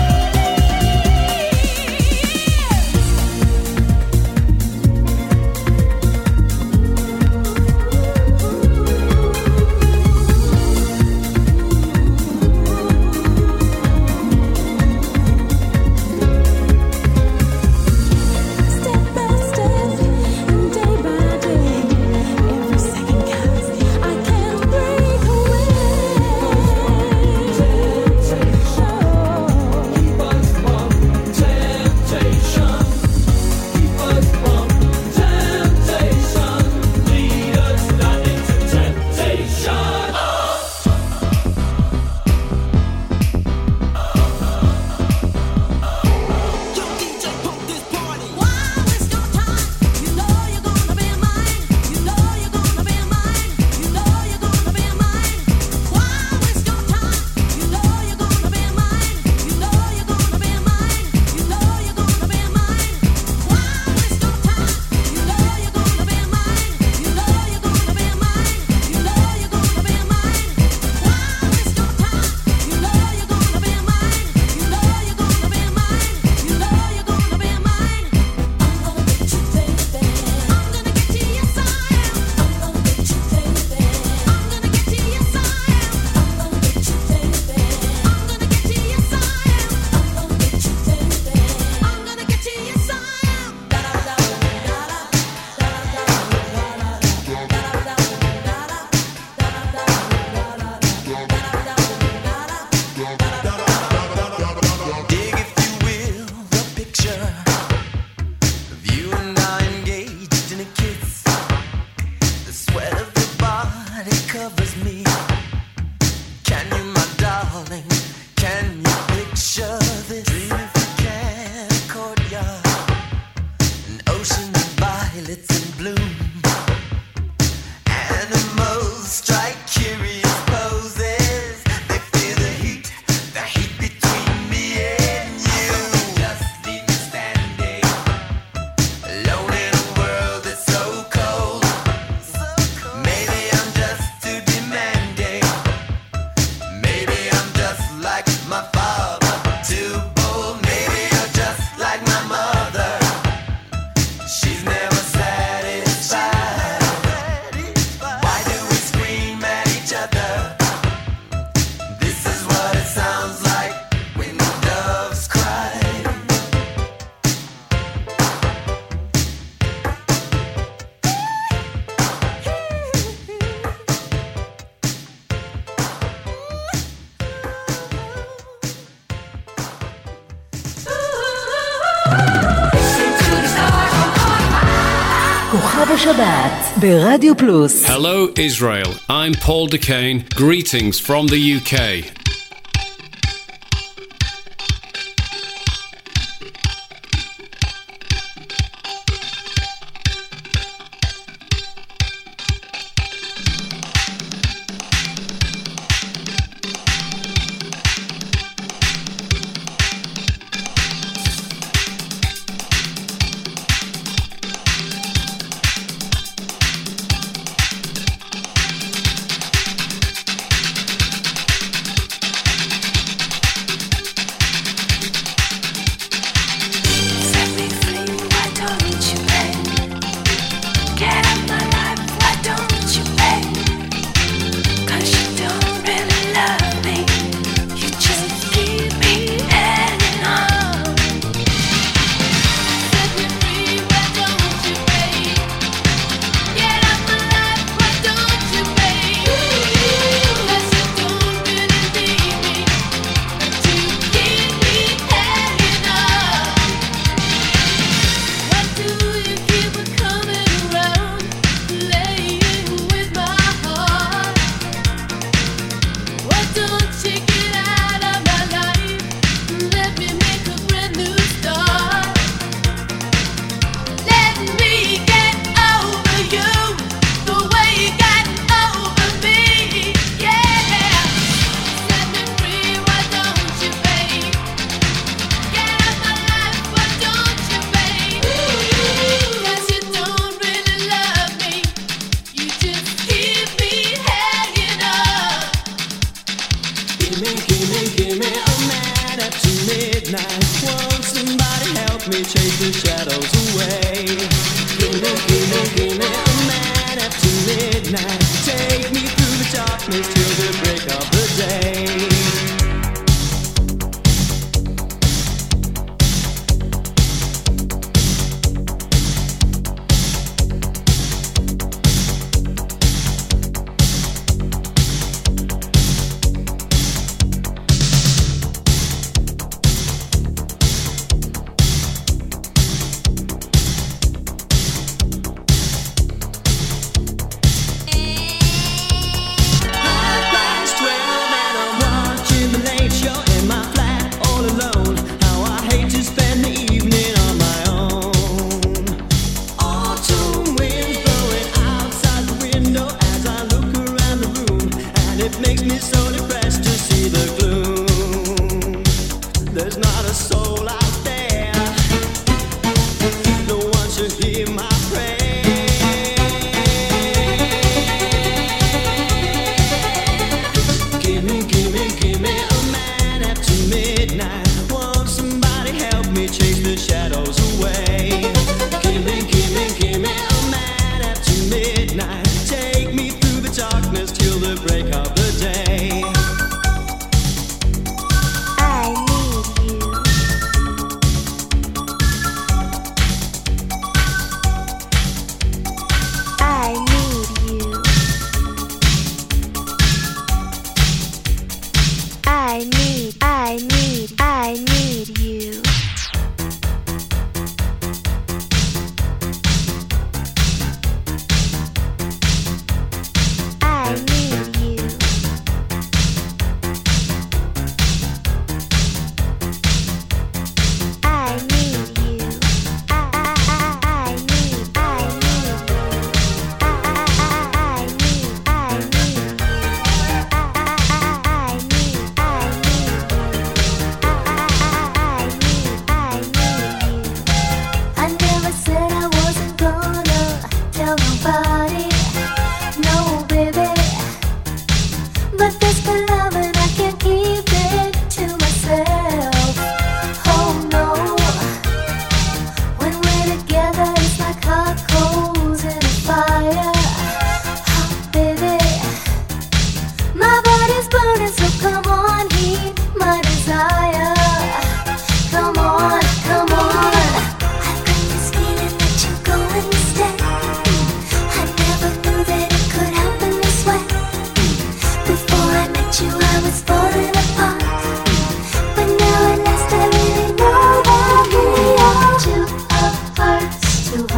כוכב השבת ברדיו פלוס. Hello Israel, I'm Paul DeCane. Greetings from the U K.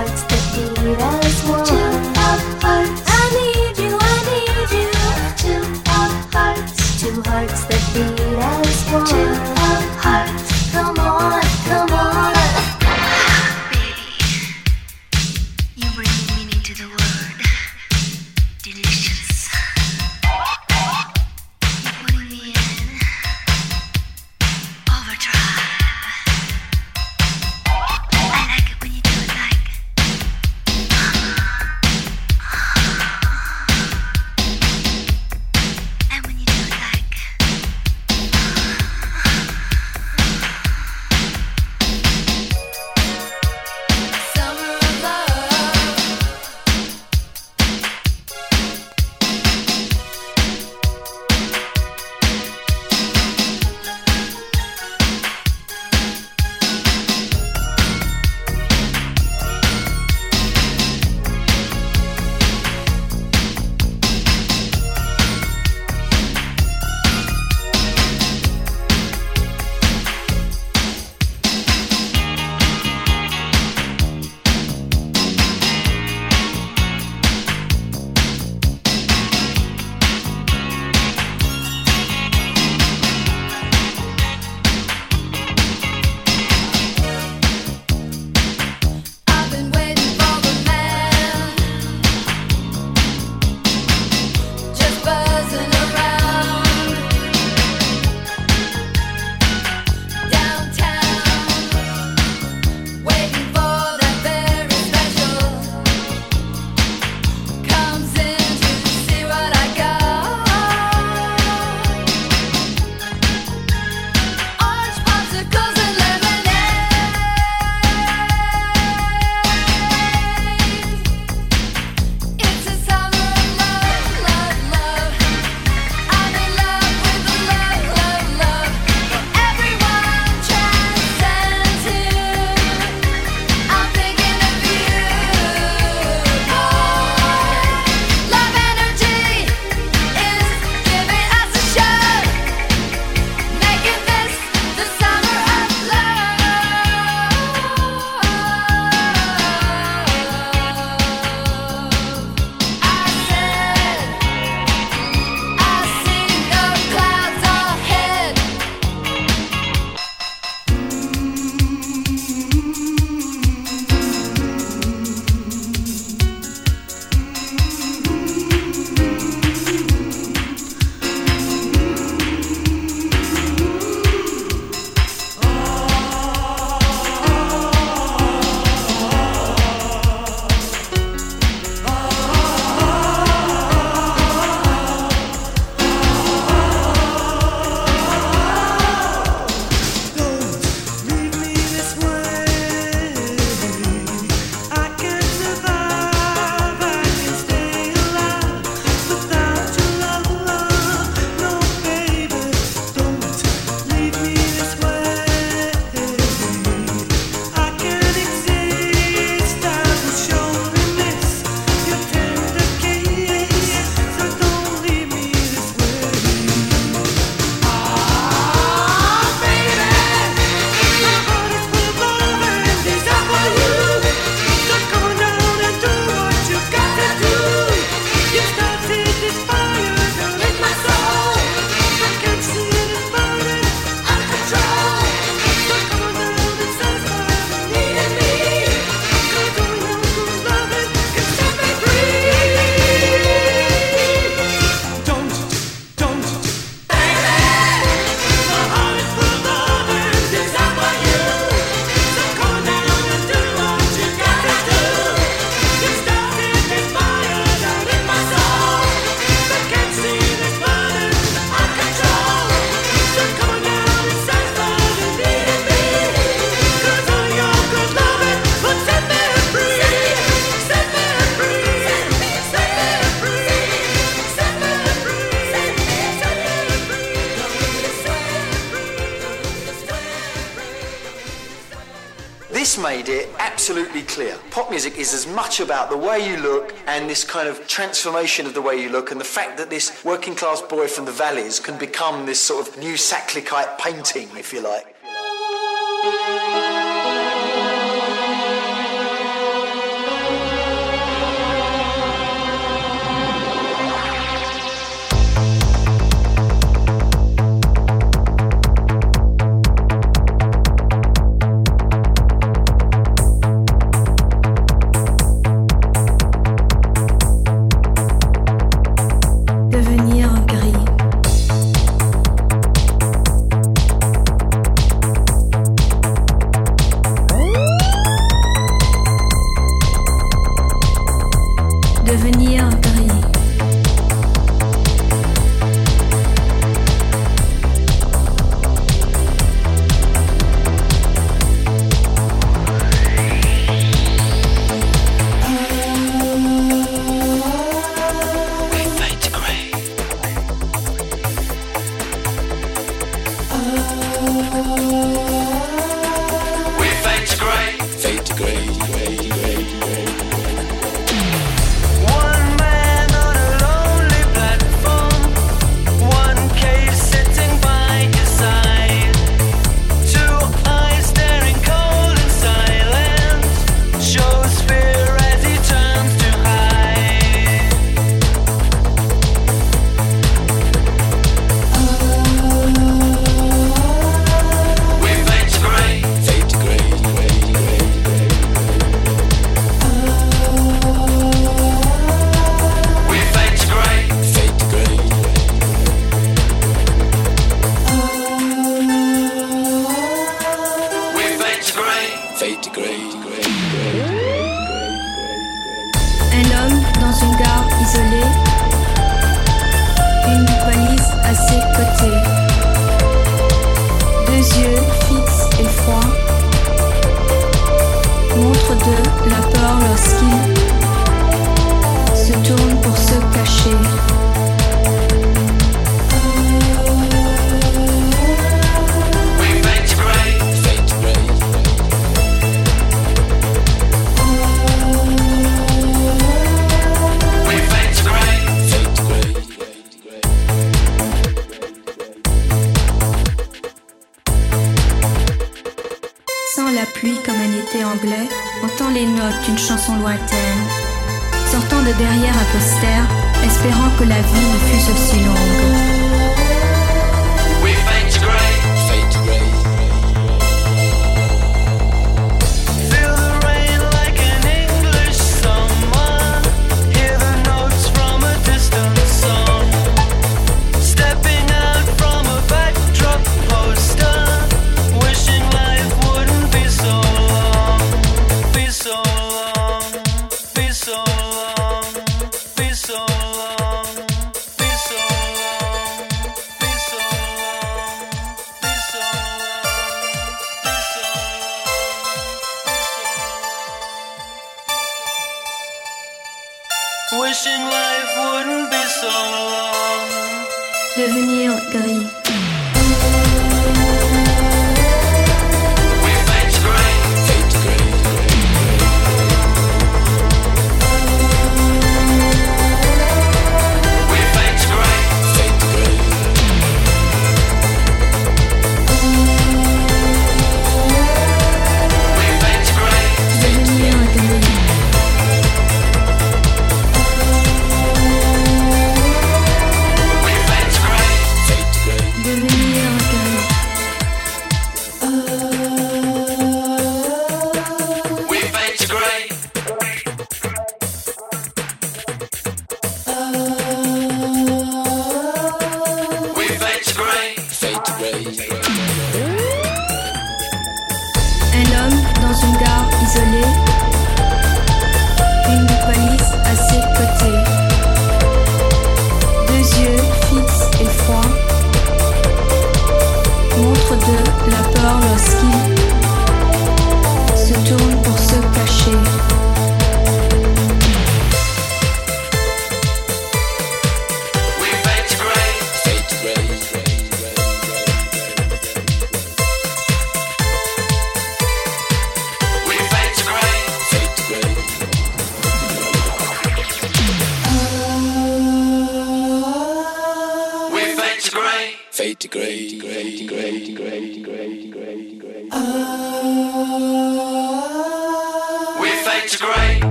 hearts that beat as one. Two of hearts. I need you, I need you. Two of hearts. Two hearts that beat as one. Two of hearts. Come on, come on. You bring meaning to the word. Delicious. You're putting me in overdrive. I like it when you do it like. And when you do it like. Summer of love. I've been waiting for the man, just buzzing around downtown, waiting for that very special. Comes in to see what I got. Orange popsicles and lemonade. It's a summer of love, love, love. I'm in love with the love, love, love. Everyone transcends here. I'm thinking of you, boy. Love energy is giving us a shot, making this the summer of love. I said, I see no clouds ahead. Leave me this way. I can't survive. I can stay alive without your love, love. No, baby, don't leave me this way. I can't exist. I will surely miss your tender kiss. So don't leave me this way. Ah, baby, my heart is full of love and desire for you. So come on down and do what you got to do. You started this fire down in my soul. I can't see it is burning out of control. So come on down and satisfy the need in me. 'Cause only one who's loving can set me free. Don't, don't, baby, my heart is full of love and desire for you. So come on down and do what you got to do. You started this fire down in my soul. I can't see this burning out of control. So come on down and satisfy the need in me. 'Cause all your good loving will set me free. Set me free. Set me free. Set me free. Set me This made it absolutely clear. Pop music is as much about the way you look and this kind of transformation of the way you look, and the fact that this working class boy from the valleys can become this sort of new Sacklickite painting, if you like. Devenir gris. Wishing life wouldn't be so long. Devenir gris. We fade to grey. Fade to grey. We fade to grey. Fade to grey. We fade to grey. Devenir gris.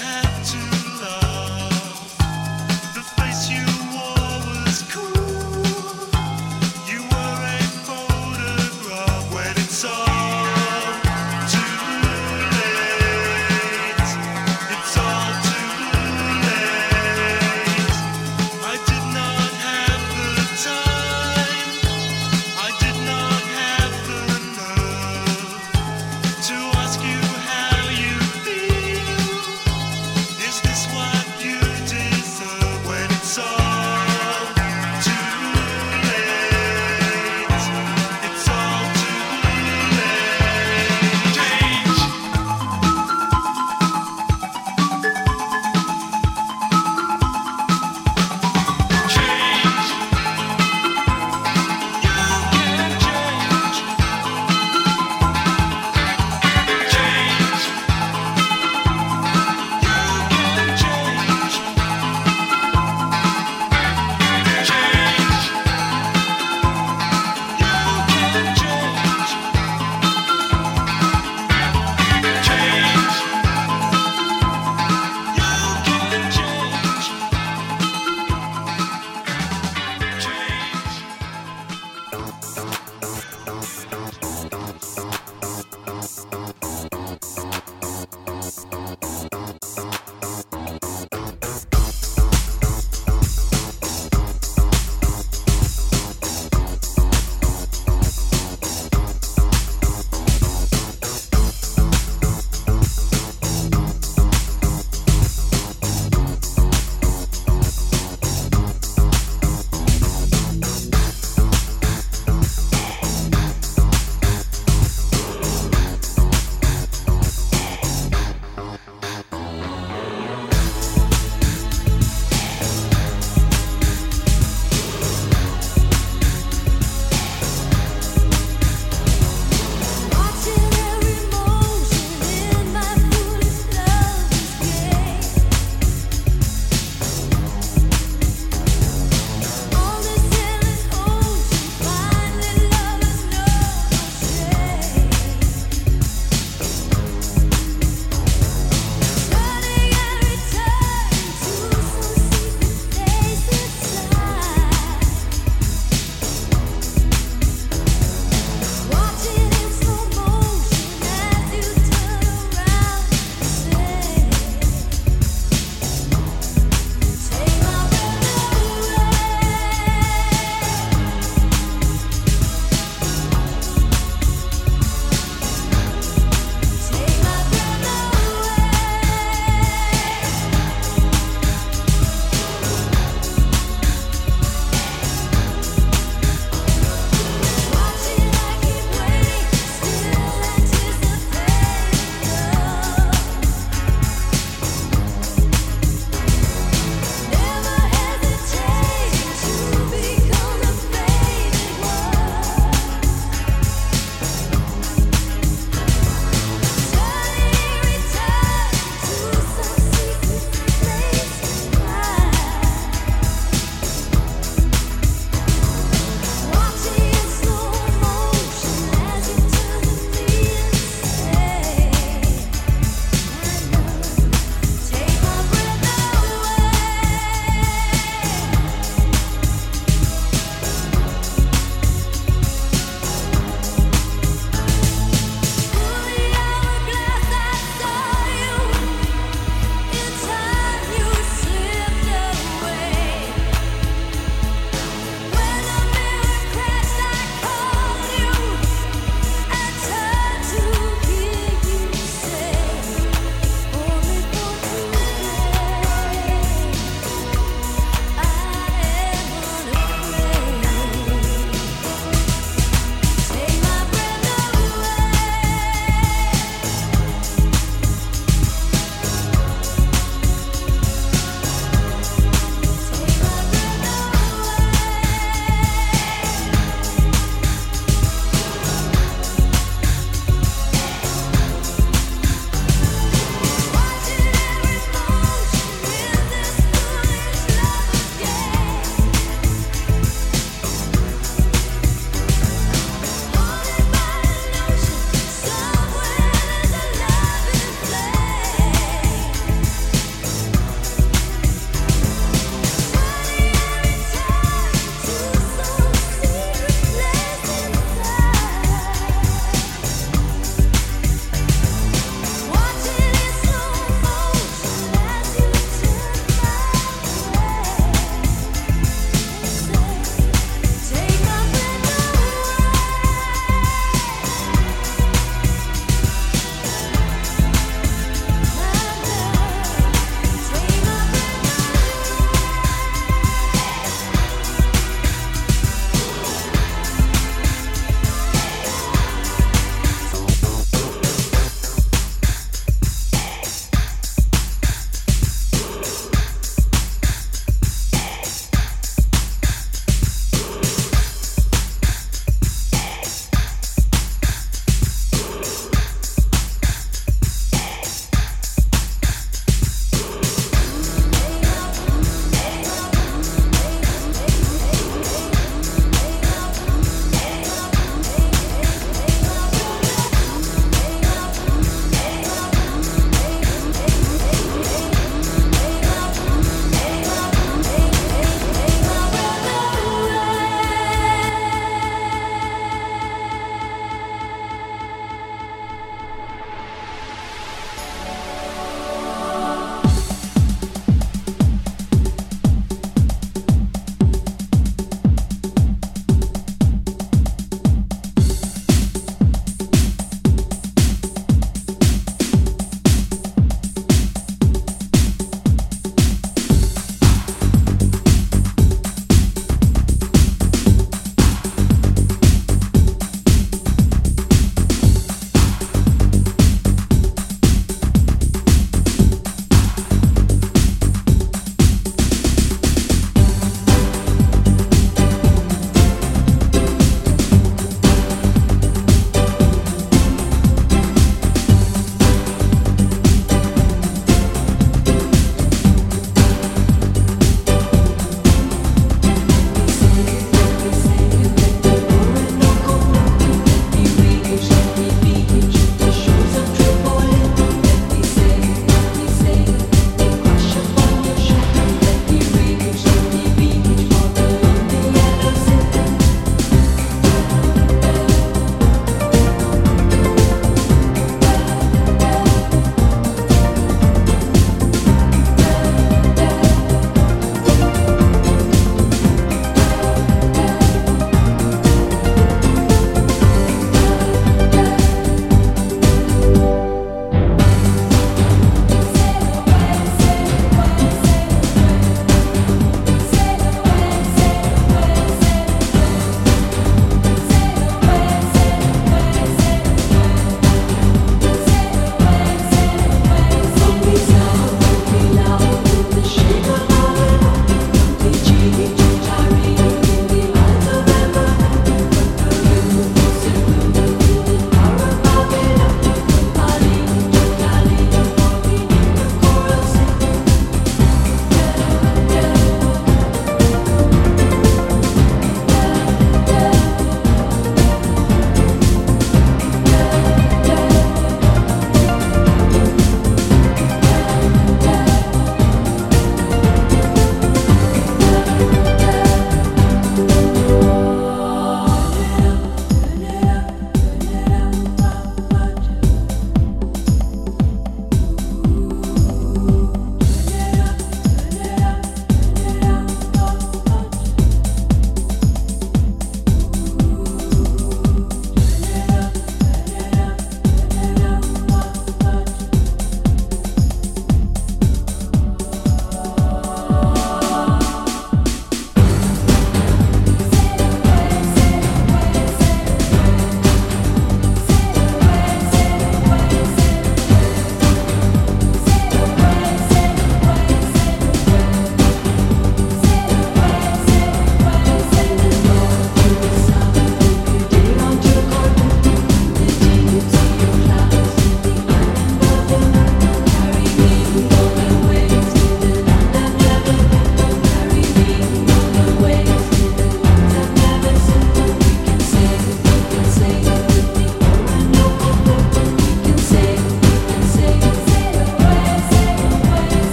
have to